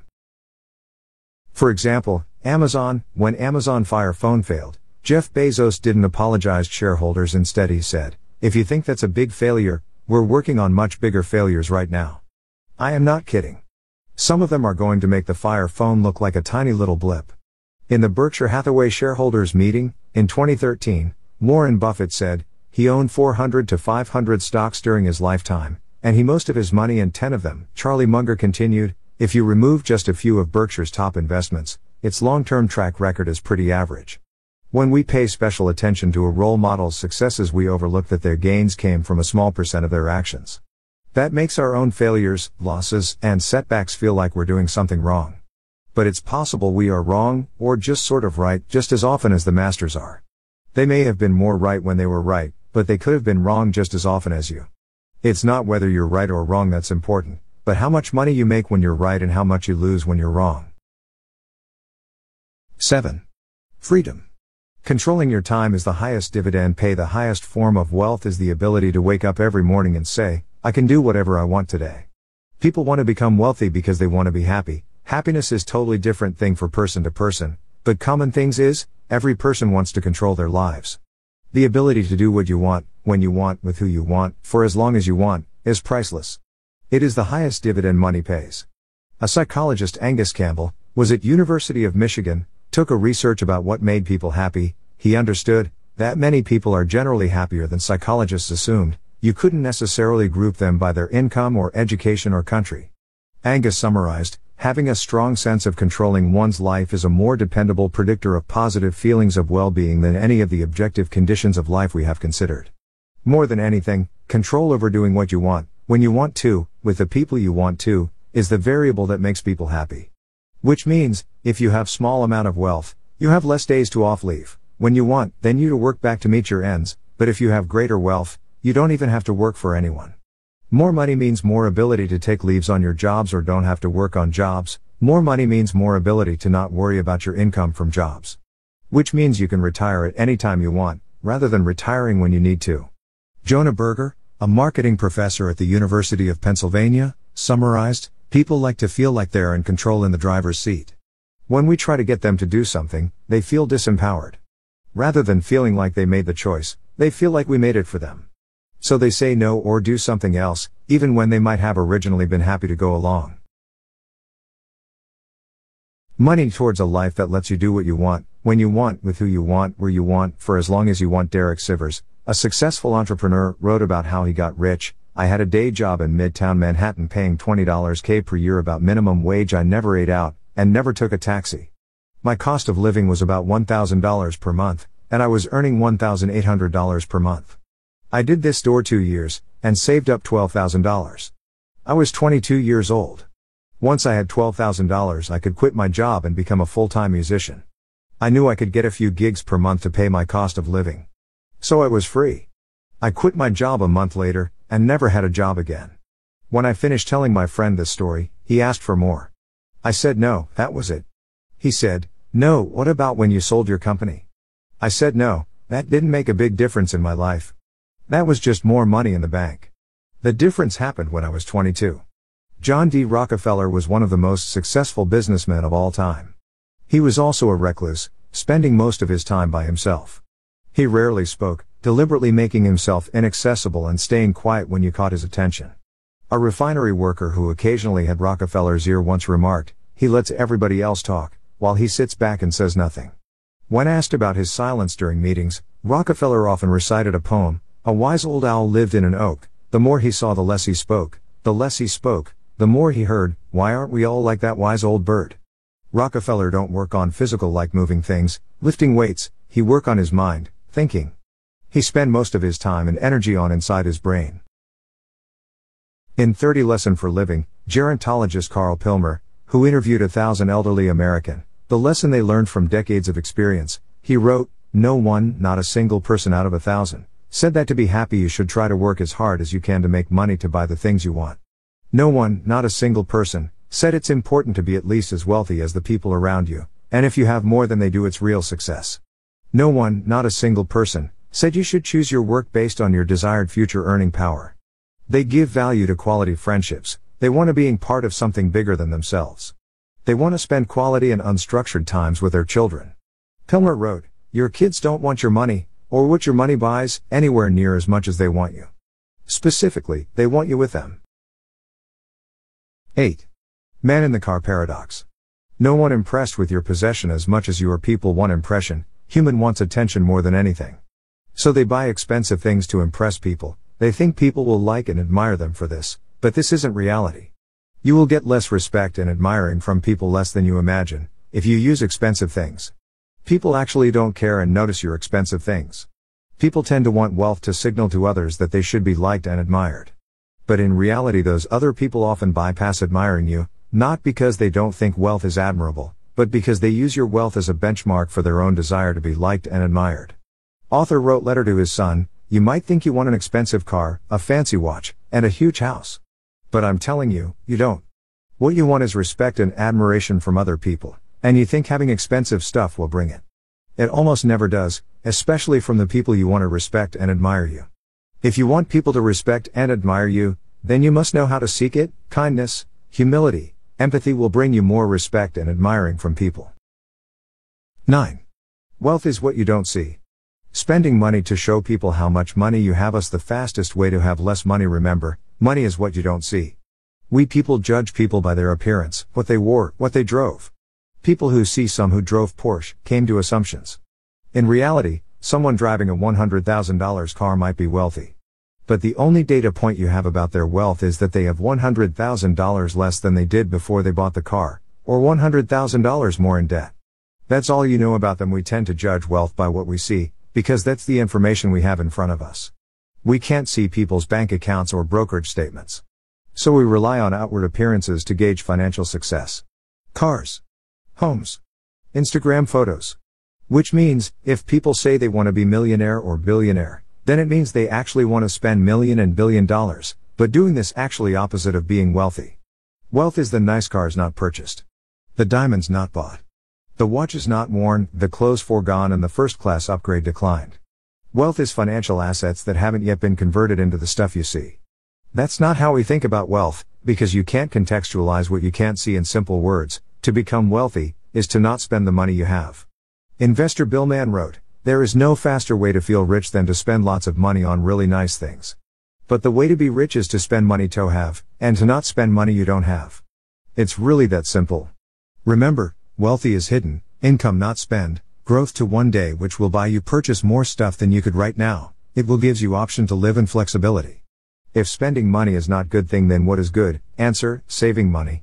For example, Amazon, when Amazon Fire Phone failed, Jeff Bezos didn't apologize to shareholders. Instead he said, if you think that's a big failure, we're working on much bigger failures right now. I am not kidding. Some of them are going to make the Fire Phone look like a tiny little blip. In the Berkshire Hathaway shareholders meeting, in twenty thirteen, Warren Buffett said, he owned four hundred to five hundred stocks during his lifetime, and he most of his money in ten of them. Charlie Munger continued, if you remove just a few of Berkshire's top investments, its long-term track record is pretty average. When we pay special attention to a role model's successes we overlook that their gains came from a small percent of their actions. That makes our own failures, losses, and setbacks feel like we're doing something wrong. But it's possible we are wrong, or just sort of right, just as often as the masters are. They may have been more right when they were right, but they could have been wrong just as often as you. It's not whether you're right or wrong that's important, but how much money you make when you're right and how much you lose when you're wrong. seven. Freedom. Controlling your time is the highest dividend pay. The highest form of wealth is the ability to wake up every morning and say, I can do whatever I want today. People want to become wealthy because they want to be happy. Happiness is totally different thing for person to person, but common things is, every person wants to control their lives. The ability to do what you want, when you want, with who you want, for as long as you want, is priceless. It is the highest dividend money pays. A psychologist, Angus Campbell, was at University of Michigan, took a research about what made people happy. He understood that many people are generally happier than psychologists assumed. You couldn't necessarily group them by their income or education or country. Angus summarized, having a strong sense of controlling one's life is a more dependable predictor of positive feelings of well-being than any of the objective conditions of life we have considered. More than anything, control over doing what you want, when you want to, with the people you want to, is the variable that makes people happy. Which means, if you have small amount of wealth, you have less days to off leave, when you want, then you to work back to meet your ends, but if you have greater wealth, you don't even have to work for anyone. More money means more ability to take leaves on your jobs or don't have to work on jobs. More money means more ability to not worry about your income from jobs. Which means you can retire at any time you want, rather than retiring when you need to. Jonah Berger, a marketing professor at the University of Pennsylvania, summarized, people like to feel like they're in control in the driver's seat. When we try to get them to do something, they feel disempowered. Rather than feeling like they made the choice, they feel like we made it for them. So they say no or do something else, even when they might have originally been happy to go along. Money towards a life that lets you do what you want, when you want, with who you want, where you want, for as long as you want. Derek Sivers, a successful entrepreneur, wrote about how he got rich. I had a day job in Midtown Manhattan paying twenty dollars a per year, about minimum wage. I never ate out, and never took a taxi. My cost of living was about one thousand dollars per month, and I was earning one thousand eight hundred dollars per month. I did this for two years, and saved up twelve thousand dollars. I was twenty-two years old. Once I had twelve thousand dollars I could quit my job and become a full-time musician. I knew I could get a few gigs per month to pay my cost of living. So I was free. I quit my job a month later, and never had a job again. When I finished telling my friend this story, he asked for more. I said no, that was it. He said, No, what about when you sold your company? I said no, that didn't make a big difference in my life. That was just more money in the bank. The difference happened when I was twenty-two. John D. Rockefeller was one of the most successful businessmen of all time. He was also a recluse, spending most of his time by himself. He rarely spoke, deliberately making himself inaccessible and staying quiet when you caught his attention. A refinery worker who occasionally had Rockefeller's ear once remarked, "He lets everybody else talk, while he sits back and says nothing." When asked about his silence during meetings, Rockefeller often recited a poem. A wise old owl lived in an oak. The more he saw, the less he spoke. The less he spoke, the more he heard. Why aren't we all like that wise old bird? Rockefeller don't work on physical like moving things, lifting weights. He work on his mind, thinking. He spend most of his time and energy on inside his brain. In thirty Lesson for Living, gerontologist Carl Pilmer, who interviewed a thousand elderly American, the lesson they learned from decades of experience, he wrote, "No one, not a single person out of a thousand, said that to be happy you should try to work as hard as you can to make money to buy the things you want. No one, not a single person, said it's important to be at least as wealthy as the people around you, and if you have more than they do it's real success. No one, not a single person, said you should choose your work based on your desired future earning power. They give value to quality friendships, they want to being part of something bigger than themselves. They want to spend quality and unstructured times with their children." Pilmer wrote, "Your kids don't want your money, or what your money buys, anywhere near as much as they want you. Specifically, they want you with them." eight. Man in the Car Paradox. No one impressed with your possession as much as your people want impression. Human wants attention more than anything. So they buy expensive things to impress people. They think people will like and admire them for this, but this isn't reality. You will get less respect and admiring from people less than you imagine, if you use expensive things. People actually don't care and notice your expensive things. People tend to want wealth to signal to others that they should be liked and admired. But in reality those other people often bypass admiring you, not because they don't think wealth is admirable, but because they use your wealth as a benchmark for their own desire to be liked and admired. Author wrote letter to his son, "You might think you want an expensive car, a fancy watch, and a huge house. But I'm telling you, you don't. What you want is respect and admiration from other people, and you think having expensive stuff will bring it. It almost never does, especially from the people you want to respect and admire you. If you want people to respect and admire you, then you must know how to seek it. Kindness, humility, empathy will bring you more respect and admiring from people." nine. Wealth is what you don't see. Spending money to show people how much money you have is the fastest way to have less money. Remember, money is what you don't see. We people judge people by their appearance, what they wore, what they drove. People who see some who drove Porsche came to assumptions. In reality, someone driving a one hundred thousand dollar car might be wealthy. But the only data point you have about their wealth is that they have one hundred thousand dollars less than they did before they bought the car, or one hundred thousand dollars more in debt. That's all you know about them. We tend to judge wealth by what we see, because that's the information we have in front of us. We can't see people's bank accounts or brokerage statements. So we rely on outward appearances to gauge financial success. Cars, homes, Instagram photos. Which means, if people say they want to be millionaire or billionaire, then it means they actually want to spend million and billion dollars, but doing this actually opposite of being wealthy. Wealth is the nice cars not purchased, the diamonds not bought, the watches not worn, the clothes foregone, and the first class upgrade declined. Wealth is financial assets that haven't yet been converted into the stuff you see. That's not how we think about wealth, because you can't contextualize what you can't see in simple words. To become wealthy is to not spend the money you have. Investor Bill Mann wrote, "There is no faster way to feel rich than to spend lots of money on really nice things. But the way to be rich is to spend money to have, and to not spend money you don't have. It's really that simple. Remember, wealthy is hidden, income not spend, growth to one day which will buy you purchase more stuff than you could right now. It will gives you option to live in flexibility. If spending money is not good thing, then what is good? Answer, saving money."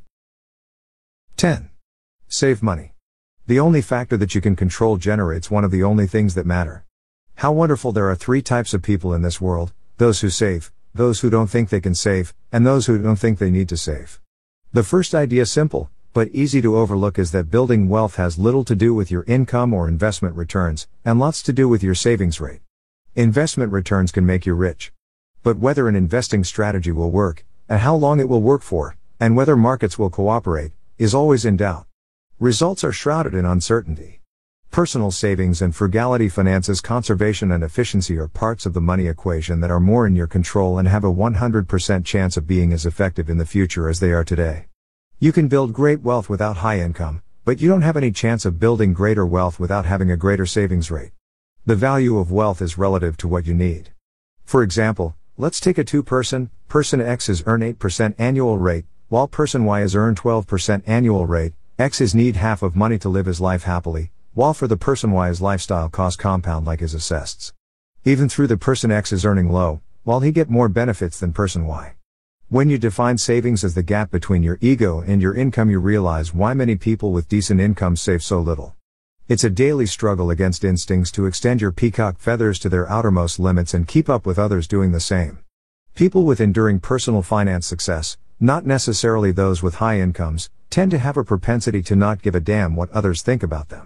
ten. Save money. The only factor that you can control generates one of the only things that matter. How wonderful. There are three types of people in this world: those who save, those who don't think they can save, and those who don't think they need to save. The first idea, simple, but easy to overlook, is that building wealth has little to do with your income or investment returns, and lots to do with your savings rate. Investment returns can make you rich. But whether an investing strategy will work, and how long it will work for, and whether markets will cooperate, is always in doubt. Results are shrouded in uncertainty. Personal savings and frugality, finances, conservation and efficiency are parts of the money equation that are more in your control and have a one hundred percent chance of being as effective in the future as they are today. You can build great wealth without high income, but you don't have any chance of building greater wealth without having a greater savings rate. The value of wealth is relative to what you need. For example, let's take a two-person, person X is earn eight percent annual rate, while person Y is earn twelve percent annual rate. X is need half of money to live his life happily, while for the person Y his lifestyle costs compound like his assets. Even through the person X is earning low, while he get more benefits than person Y. When you define savings as the gap between your ego and your income, you realize why many people with decent incomes save so little. It's a daily struggle against instincts to extend your peacock feathers to their outermost limits and keep up with others doing the same. People with enduring personal finance success, not necessarily those with high incomes, tend to have a propensity to not give a damn what others think about them.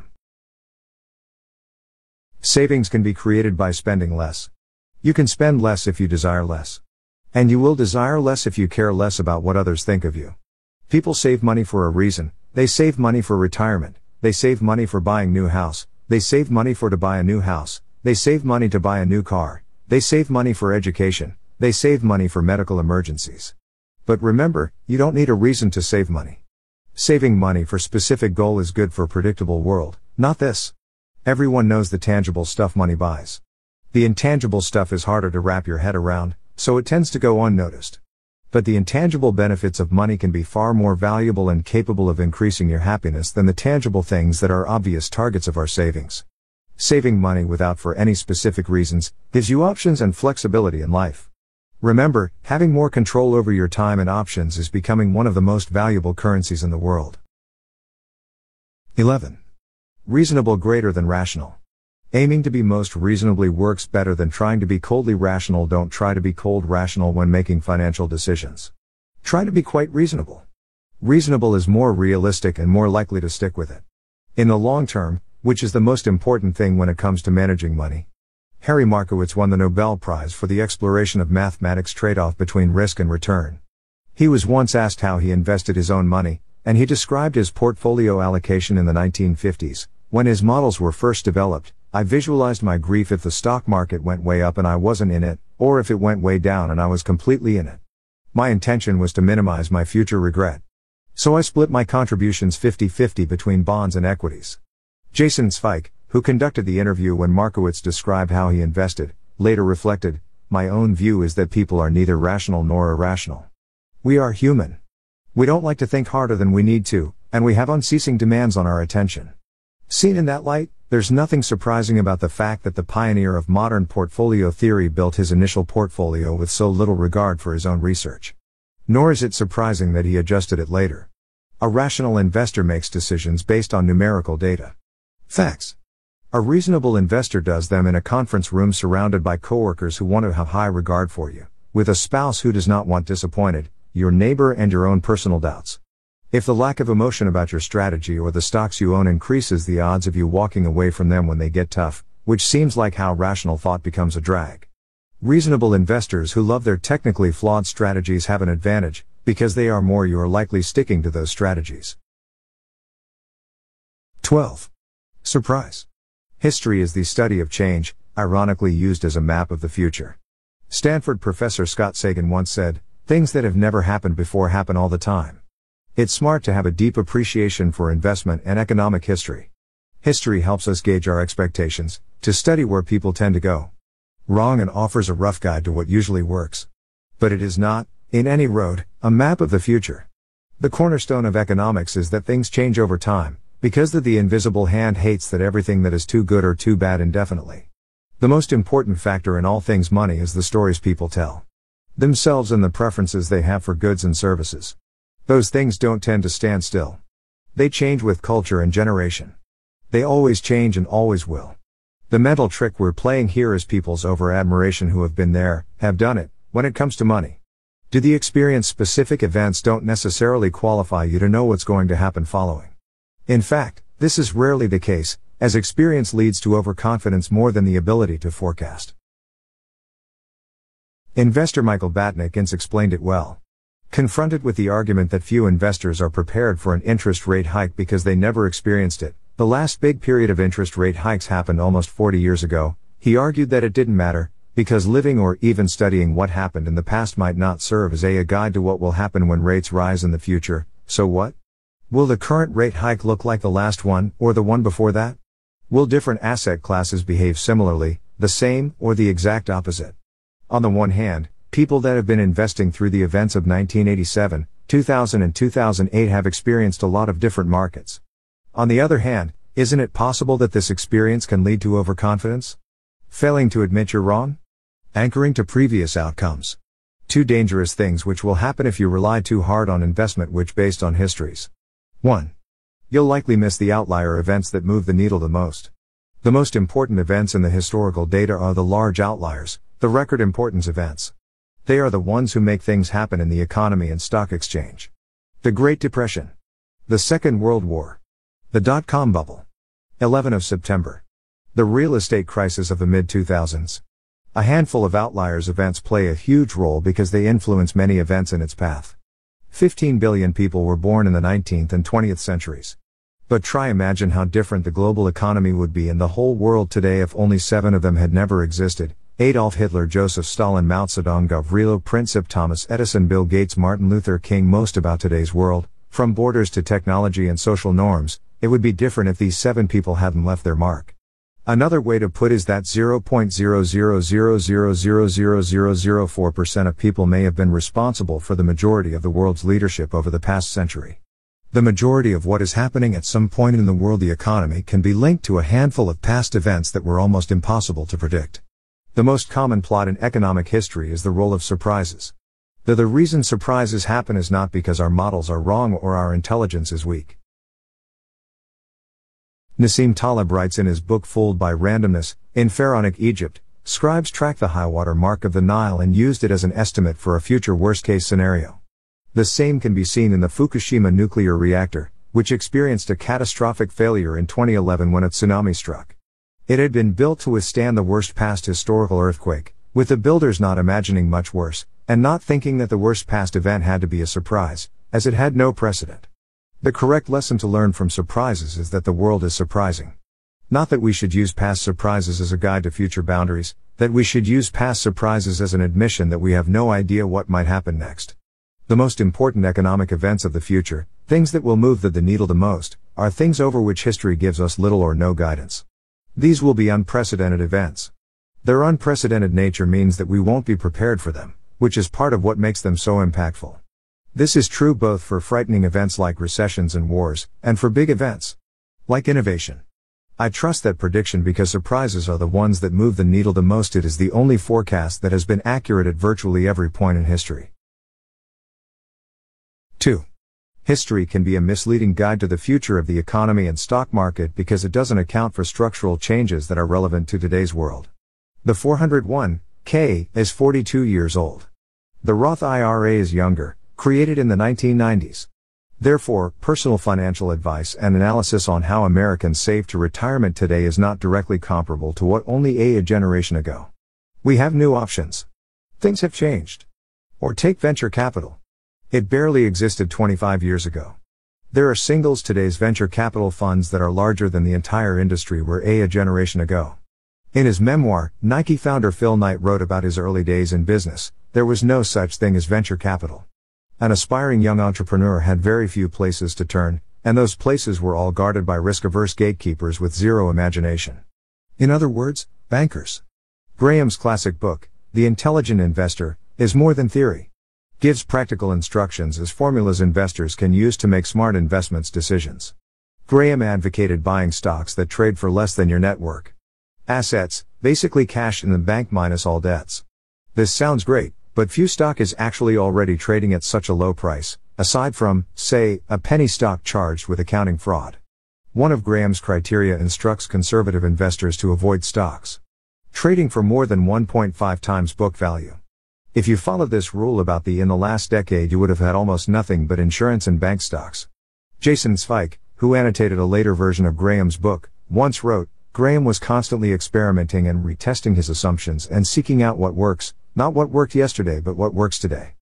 Savings can be created by spending less. You can spend less if you desire less. And you will desire less if you care less about what others think of you. People save money for a reason. They save money for retirement. They save money for buying new house. They save money for to buy a new house. They save money to buy a new car. They save money for education. They save money for medical emergencies. But remember, you don't need a reason to save money. Saving money for specific goal is good for a predictable world, not this. Everyone knows the tangible stuff money buys. The intangible stuff is harder to wrap your head around, so it tends to go unnoticed. But the intangible benefits of money can be far more valuable and capable of increasing your happiness than the tangible things that are obvious targets of our savings. Saving money without for any specific reasons gives you options and flexibility in life. Remember, having more control over your time and options is becoming one of the most valuable currencies in the world. eleven. Reasonable greater than rational. Aiming to be most reasonably works better than trying to be coldly rational. Don't try to be cold rational when making financial decisions. Try to be quite reasonable. Reasonable is more realistic and more likely to stick with it. In the long term, which is the most important thing when it comes to managing money. Harry Markowitz won the Nobel Prize for the exploration of mathematics trade-off between risk and return. He was once asked how he invested his own money, and he described his portfolio allocation in the nineteen fifties. When his models were first developed, I visualized my grief if the stock market went way up and I wasn't in it, or if it went way down and I was completely in it. My intention was to minimize my future regret. So I split my contributions fifty-fifty between bonds and equities. Jason Zweig, who conducted the interview when Markowitz described how he invested, later reflected, "My own view is that people are neither rational nor irrational. We are human. We don't like to think harder than we need to, and we have unceasing demands on our attention." Seen in that light, there's nothing surprising about the fact that the pioneer of modern portfolio theory built his initial portfolio with so little regard for his own research. Nor is it surprising that he adjusted it later. A rational investor makes decisions based on numerical data. Facts. A reasonable investor does them in a conference room surrounded by coworkers who want to have high regard for you, with a spouse who does not want disappointed, your neighbor and your own personal doubts. If the lack of emotion about your strategy or the stocks you own increases the odds of you walking away from them when they get tough, which seems like how rational thought becomes a drag. Reasonable investors who love their technically flawed strategies have an advantage, because they are more you are likely sticking to those strategies. twelve. Surprise. History is the study of change, ironically used as a map of the future. Stanford professor Scott Sagan once said, "Things that have never happened before happen all the time." It's smart to have a deep appreciation for investment and economic history. History helps us gauge our expectations, to study where people tend to go wrong, and offers a rough guide to what usually works. But it is not, in any road, a map of the future. The cornerstone of economics is that things change over time, because that the invisible hand hates that everything that is too good or too bad indefinitely. The most important factor in all things money is the stories people tell themselves and the preferences they have for goods and services. Those things don't tend to stand still. They change with culture and generation. They always change and always will. The mental trick we're playing here is people's over-admiration who have been there, have done it, when it comes to money. Do the experience specific events don't necessarily qualify you to know what's going to happen following. In fact, this is rarely the case, as experience leads to overconfidence more than the ability to forecast. Investor Michael Batnick once explained it well. Confronted with the argument that few investors are prepared for an interest rate hike because they never experienced it, the last big period of interest rate hikes happened almost forty years ago, he argued that it didn't matter, because living or even studying what happened in the past might not serve as a, a guide to what will happen when rates rise in the future. So what? Will the current rate hike look like the last one, or the one before that? Will different asset classes behave similarly, the same, or the exact opposite? On the one hand, people that have been investing through the events of nineteen eighty-seven, two thousand and two thousand eight have experienced a lot of different markets. On the other hand, isn't it possible that this experience can lead to overconfidence? Failing to admit you're wrong? Anchoring to previous outcomes. Two dangerous things which will happen if you rely too hard on investment which based on histories. one. You'll likely miss the outlier events that move the needle the most. The most important events in the historical data are the large outliers, the record importance events. They are the ones who make things happen in the economy and stock exchange. The Great Depression. The Second World War. The dot-com bubble. eleventh of September. The real estate crisis of the mid two thousands. A handful of outliers events play a huge role because they influence many events in its path. fifteen billion people were born in the nineteenth and twentieth centuries. But try imagine how different the global economy would be in the whole world today if only seven of them had never existed. Adolf Hitler, Joseph Stalin, Mao Zedong, Gavrilo Princip, Thomas Edison, Bill Gates, Martin Luther King. Most about today's world, from borders to technology and social norms, it would be different if these seven people hadn't left their mark. Another way to put is that zero point zero zero zero zero zero zero zero zero four percent of people may have been responsible for the majority of the world's leadership over the past century. The majority of what is happening at some point in the world the economy can be linked to a handful of past events that were almost impossible to predict. The most common plot in economic history is the role of surprises. Though the reason surprises happen is not because our models are wrong or our intelligence is weak. Nassim Taleb writes in his book Fooled by Randomness, in Pharaonic Egypt, scribes tracked the high-water mark of the Nile and used it as an estimate for a future worst-case scenario. The same can be seen in the Fukushima nuclear reactor, which experienced a catastrophic failure in twenty eleven when a tsunami struck. It had been built to withstand the worst past historical earthquake, with the builders not imagining much worse, and not thinking that the worst past event had to be a surprise, as it had no precedent. The correct lesson to learn from surprises is that the world is surprising. Not that we should use past surprises as a guide to future boundaries, that we should use past surprises as an admission that we have no idea what might happen next. The most important economic events of the future, things that will move the, the needle the most, are things over which history gives us little or no guidance. These will be unprecedented events. Their unprecedented nature means that we won't be prepared for them, which is part of what makes them so impactful. This is true both for frightening events like recessions and wars, and for big events, like innovation. I trust that prediction because surprises are the ones that move the needle the most. It is the only forecast that has been accurate at virtually every point in history. two. History can be a misleading guide to the future of the economy and stock market because it doesn't account for structural changes that are relevant to today's world. The four oh one k is forty-two years old. The Roth I R A is younger, created in the nineteen nineties. Therefore, personal financial advice and analysis on how Americans save to retirement today is not directly comparable to what only a, a generation ago. We have new options. Things have changed. Or take venture capital. It barely existed twenty-five years ago. There are singles today's venture capital funds that are larger than the entire industry were a, a generation ago. In his memoir, Nike founder Phil Knight wrote about his early days in business. There was no such thing as venture capital. An aspiring young entrepreneur had very few places to turn, and those places were all guarded by risk-averse gatekeepers with zero imagination. In other words, bankers. Graham's classic book, The Intelligent Investor, is more than theory. Gives practical instructions as formulas investors can use to make smart investments decisions. Graham advocated buying stocks that trade for less than your net worth. Assets, basically cash in the bank minus all debts. This sounds great, but few stock is actually already trading at such a low price, aside from, say, a penny stock charged with accounting fraud. One of Graham's criteria instructs conservative investors to avoid stocks trading for more than one point five times book value. If you followed this rule about the in the last decade you would have had almost nothing but insurance and bank stocks. Jason Zweig, who annotated a later version of Graham's book, once wrote, Graham was constantly experimenting and retesting his assumptions and seeking out what works, not what worked yesterday but what works today.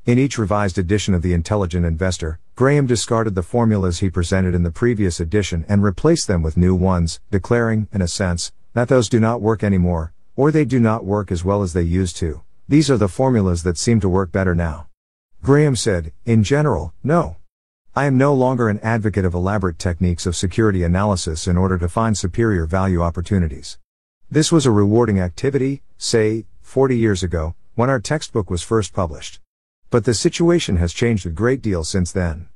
In each revised edition of The Intelligent Investor, Graham discarded the formulas he presented in the previous edition and replaced them with new ones, declaring, in a sense, that those do not work anymore, or they do not work as well as they used to. These are the formulas that seem to work better now. Graham said, in general, no. I am no longer an advocate of elaborate techniques of security analysis in order to find superior value opportunities. This was a rewarding activity, say, forty years ago, when our textbook was first published. But the situation has changed a great deal since then.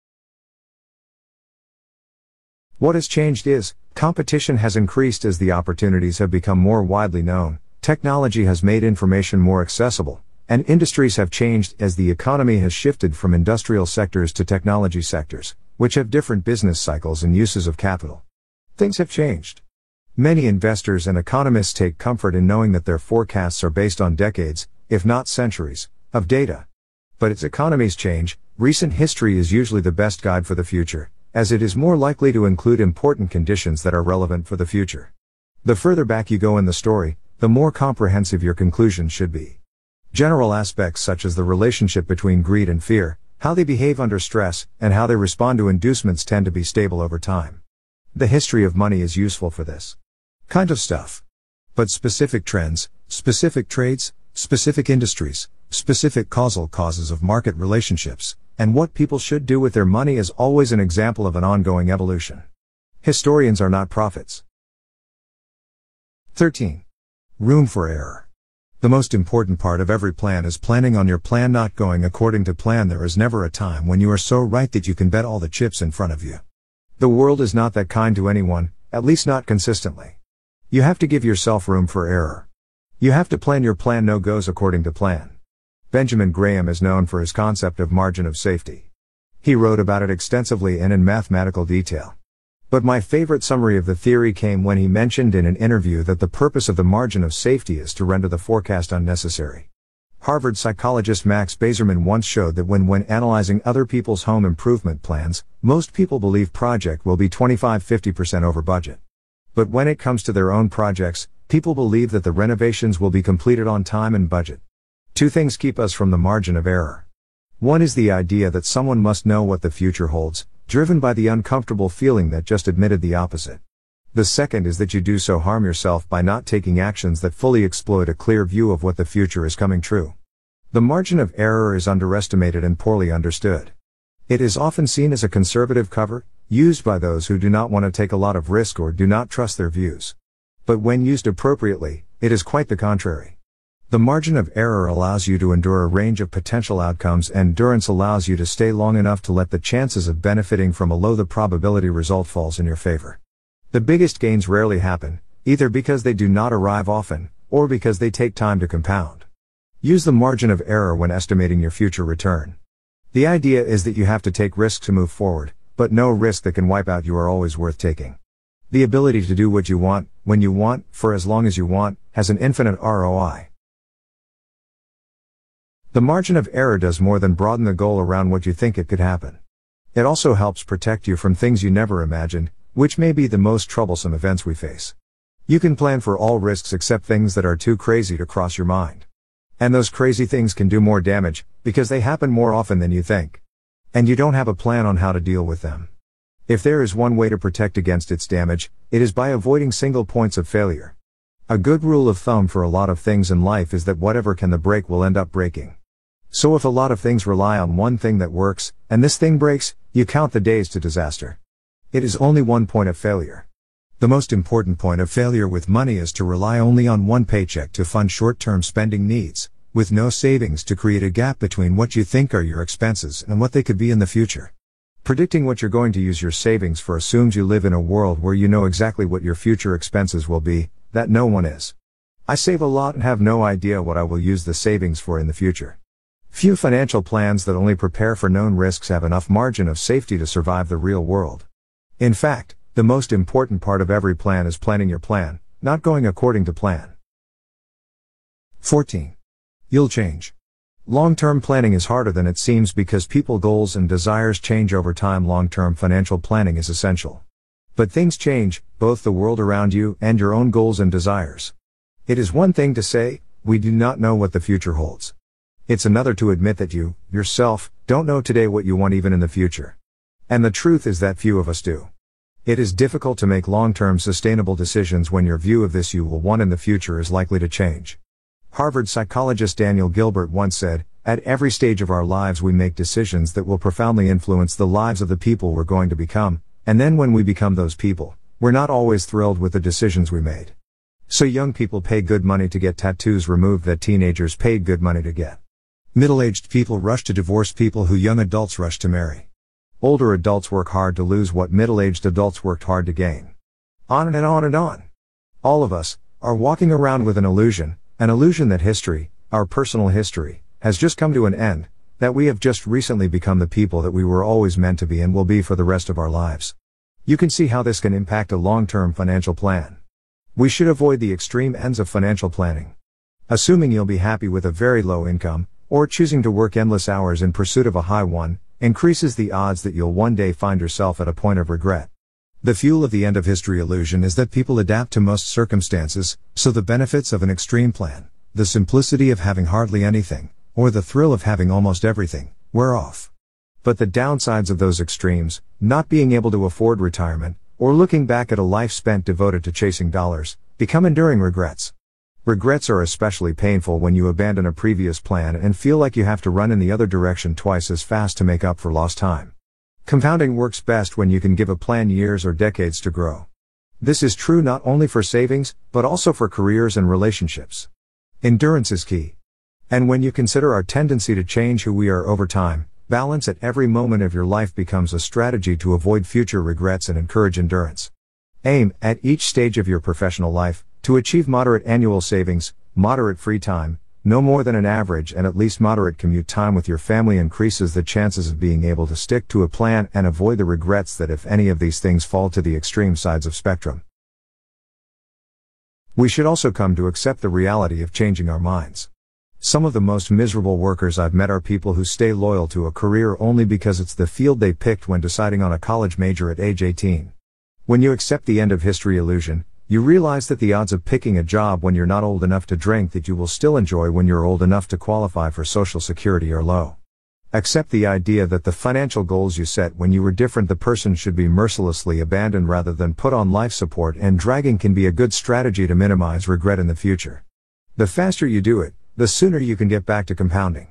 What has changed is, competition has increased as the opportunities have become more widely known, technology has made information more accessible, and industries have changed as the economy has shifted from industrial sectors to technology sectors, which have different business cycles and uses of capital. Things have changed. Many investors and economists take comfort in knowing that their forecasts are based on decades, if not centuries, of data. But as economies change, recent history is usually the best guide for the future, as it is more likely to include important conditions that are relevant for the future. The further back you go in the story, the more comprehensive your conclusions should be. General aspects such as the relationship between greed and fear, how they behave under stress, and how they respond to inducements tend to be stable over time. The history of money is useful for this kind of stuff. But specific trends, specific trades, specific industries, specific causal causes of market relationships, and what people should do with their money is always an example of an ongoing evolution. Historians are not prophets. thirteen. Room for error. The most important part of every plan is planning on your plan not going according to plan. There is never a time when you are so right that you can bet all the chips in front of you. The world is not that kind to anyone, at least not consistently. You have to give yourself room for error. You have to plan your plan no goes according to plan. Benjamin Graham is known for his concept of margin of safety. He wrote about it extensively and in mathematical detail. But my favorite summary of the theory came when he mentioned in an interview that the purpose of the margin of safety is to render the forecast unnecessary. Harvard psychologist Max Bazerman once showed that when when analyzing other people's home improvement plans, most people believe project will be twenty-five to fifty percent over budget. But when it comes to their own projects, people believe that the renovations will be completed on time and budget. Two things keep us from the margin of error. One is the idea that someone must know what the future holds, driven by the uncomfortable feeling that just admitted the opposite. The second is that you do so harm yourself by not taking actions that fully exploit a clear view of what the future is coming true. The margin of error is underestimated and poorly understood. It is often seen as a conservative cover, used by those who do not want to take a lot of risk or do not trust their views. But when used appropriately, it is quite the contrary. The margin of error allows you to endure a range of potential outcomes, and endurance allows you to stay long enough to let the chances of benefiting from a low the probability result falls in your favor. The biggest gains rarely happen, either because they do not arrive often, or because they take time to compound. Use the margin of error when estimating your future return. The idea is that you have to take risks to move forward, but no risk that can wipe out you are always worth taking. The ability to do what you want, when you want, for as long as you want, has an infinite R O I. The margin of error does more than broaden the goal around what you think it could happen. It also helps protect you from things you never imagined, which may be the most troublesome events we face. You can plan for all risks except things that are too crazy to cross your mind. And those crazy things can do more damage, because they happen more often than you think. And you don't have a plan on how to deal with them. If there is one way to protect against its damage, it is by avoiding single points of failure. A good rule of thumb for a lot of things in life is that whatever can the break will end up breaking. So if a lot of things rely on one thing that works, and this thing breaks, you count the days to disaster. It is only one point of failure. The most important point of failure with money is to rely only on one paycheck to fund short-term spending needs, with no savings to create a gap between what you think are your expenses and what they could be in the future. Predicting what you're going to use your savings for assumes you live in a world where you know exactly what your future expenses will be, that no one is. I save a lot and have no idea what I will use the savings for in the future. Few financial plans that only prepare for known risks have enough margin of safety to survive the real world. In fact, the most important part of every plan is planning your plan, not going according to plan. fourteen. You'll change. Long-term planning is harder than it seems because people's goals and desires change over time. Long-term financial planning is essential. But things change, both the world around you and your own goals and desires. It is one thing to say, we do not know what the future holds. It's another to admit that you, yourself, don't know today what you want even in the future. And the truth is that few of us do. It is difficult to make long-term sustainable decisions when your view of this you will want in the future is likely to change. Harvard psychologist Daniel Gilbert once said, "At every stage of our lives we make decisions that will profoundly influence the lives of the people we're going to become, and then when we become those people, we're not always thrilled with the decisions we made." So young people pay good money to get tattoos removed that teenagers paid good money to get. Middle-aged people rush to divorce people who young adults rush to marry. Older adults work hard to lose what middle-aged adults worked hard to gain. On and on and on. All of us are walking around with an illusion, an illusion that history, our personal history, has just come to an end, that we have just recently become the people that we were always meant to be and will be for the rest of our lives. You can see how this can impact a long-term financial plan. We should avoid the extreme ends of financial planning. Assuming you'll be happy with a very low income, or choosing to work endless hours in pursuit of a high one, increases the odds that you'll one day find yourself at a point of regret. The fuel of the end of history illusion is that people adapt to most circumstances, so the benefits of an extreme plan, the simplicity of having hardly anything, or the thrill of having almost everything, wear off. But the downsides of those extremes, not being able to afford retirement, or looking back at a life spent devoted to chasing dollars, become enduring regrets. Regrets are especially painful when you abandon a previous plan and feel like you have to run in the other direction twice as fast to make up for lost time. Compounding works best when you can give a plan years or decades to grow. This is true not only for savings, but also for careers and relationships. Endurance is key. And when you consider our tendency to change who we are over time, balance at every moment of your life becomes a strategy to avoid future regrets and encourage endurance. Aim, at each stage of your professional life, to achieve moderate annual savings, moderate free time, no more than an average and at least moderate commute time with your family increases the chances of being able to stick to a plan and avoid the regrets that if any of these things fall to the extreme sides of spectrum. We should also come to accept the reality of changing our minds. Some of the most miserable workers I've met are people who stay loyal to a career only because it's the field they picked when deciding on a college major at age eighteen. When you accept the end of history illusion, you realize that the odds of picking a job when you're not old enough to drink that you will still enjoy when you're old enough to qualify for Social Security are low. Accept the idea that the financial goals you set when you were different the person should be mercilessly abandoned rather than put on life support, and dragging can be a good strategy to minimize regret in the future. The faster you do it, the sooner you can get back to compounding.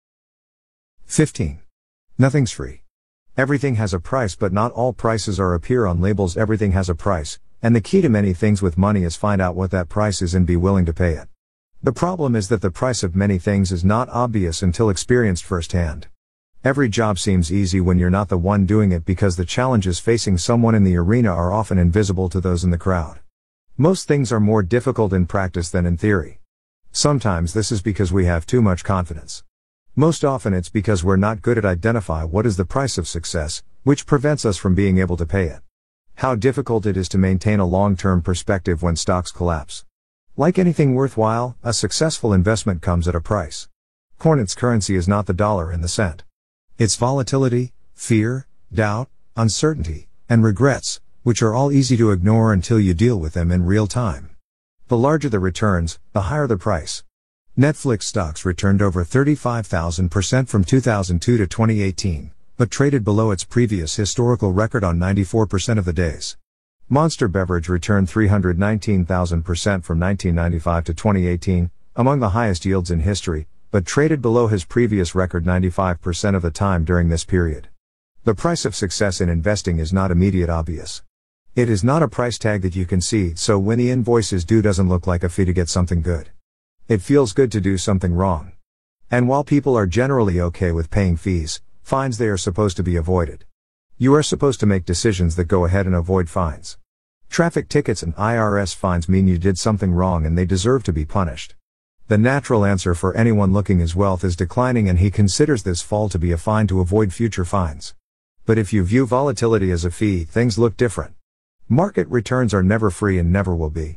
fifteen. Nothing's free. Everything has a price, but not all prices are appear on labels. Everything has a price. And the key to many things with money is find out what that price is and be willing to pay it. The problem is that the price of many things is not obvious until experienced firsthand. Every job seems easy when you're not the one doing it because the challenges facing someone in the arena are often invisible to those in the crowd. Most things are more difficult in practice than in theory. Sometimes this is because we have too much confidence. Most often it's because we're not good at identify what is the price of success, which prevents us from being able to pay it. How difficult it is to maintain a long-term perspective when stocks collapse. Like anything worthwhile, a successful investment comes at a price. Cornet's currency is not the dollar and the cent. It's volatility, fear, doubt, uncertainty, and regrets, which are all easy to ignore until you deal with them in real time. The larger the returns, the higher the price. Netflix stocks returned over thirty-five thousand percent from two thousand two to twenty eighteen. But traded below its previous historical record on ninety-four percent of the days. Monster Beverage returned three hundred nineteen thousand percent from nineteen ninety-five to twenty eighteen, among the highest yields in history, but traded below his previous record ninety-five percent of the time during this period. The price of success in investing is not immediate obvious. It is not a price tag that you can see, so when the invoice is due doesn't look like a fee to get something good. It feels good to do something wrong. And while people are generally okay with paying fees, fines they are supposed to be avoided. You are supposed to make decisions that go ahead and avoid fines. Traffic tickets and I R S fines mean you did something wrong and they deserve to be punished. The natural answer for anyone looking his wealth is declining, and he considers this fall to be a fine to avoid future fines. But if you view volatility as a fee, things look different. Market returns are never free and never will be.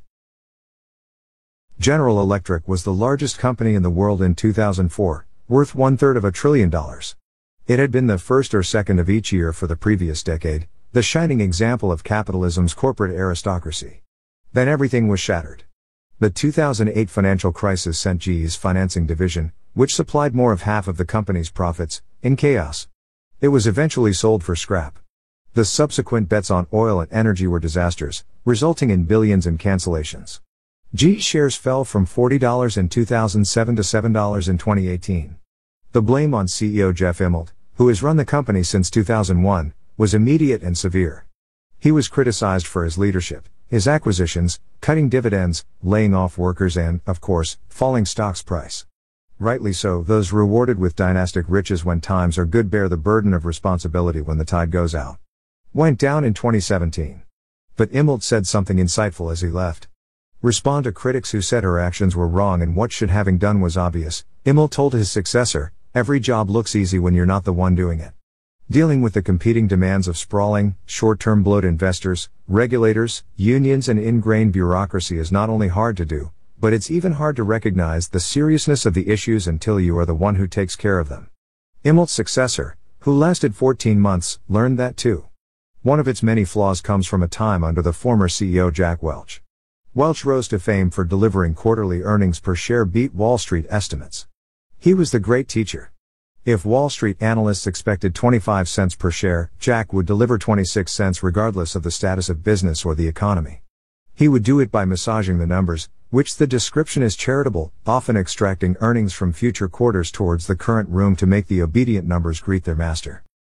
General Electric was the largest company in the world in two thousand four, worth one-third of a trillion dollars. It had been the first or second of each year for the previous decade, the shining example of capitalism's corporate aristocracy. Then everything was shattered. The two thousand eight financial crisis sent G E's financing division, which supplied more of half of the company's profits, in chaos. It was eventually sold for scrap. The subsequent bets on oil and energy were disasters, resulting in billions in cancellations. G E shares fell from forty dollars in two thousand seven to seven dollars in twenty eighteen. The blame on C E O Jeff Immelt, who has run the company since two thousand one, was immediate and severe. He was criticized for his leadership, his acquisitions, cutting dividends, laying off workers and, of course, falling stock's price. Rightly so, those rewarded with dynastic riches when times are good bear the burden of responsibility when the tide goes out. Went down in twenty seventeen. But Immelt said something insightful as he left. Respond to critics who said her actions were wrong and what should having done was obvious. Immelt told his successor, every job looks easy when you're not the one doing it. Dealing with the competing demands of sprawling, short-term bloat investors, regulators, unions and ingrained bureaucracy is not only hard to do, but it's even hard to recognize the seriousness of the issues until you are the one who takes care of them. Immelt's successor, who lasted fourteen months, learned that too. One of its many flaws comes from a time under the former C E O Jack Welch. Welch rose to fame for delivering quarterly earnings per share beat Wall Street estimates. He was the great teacher. If Wall Street analysts expected twenty-five cents per share, Jack would deliver twenty-six cents regardless of the status of business or the economy. He would do it by massaging the numbers, which the description is charitable, often extracting earnings from future quarters towards the current room to make the obedient numbers greet their master.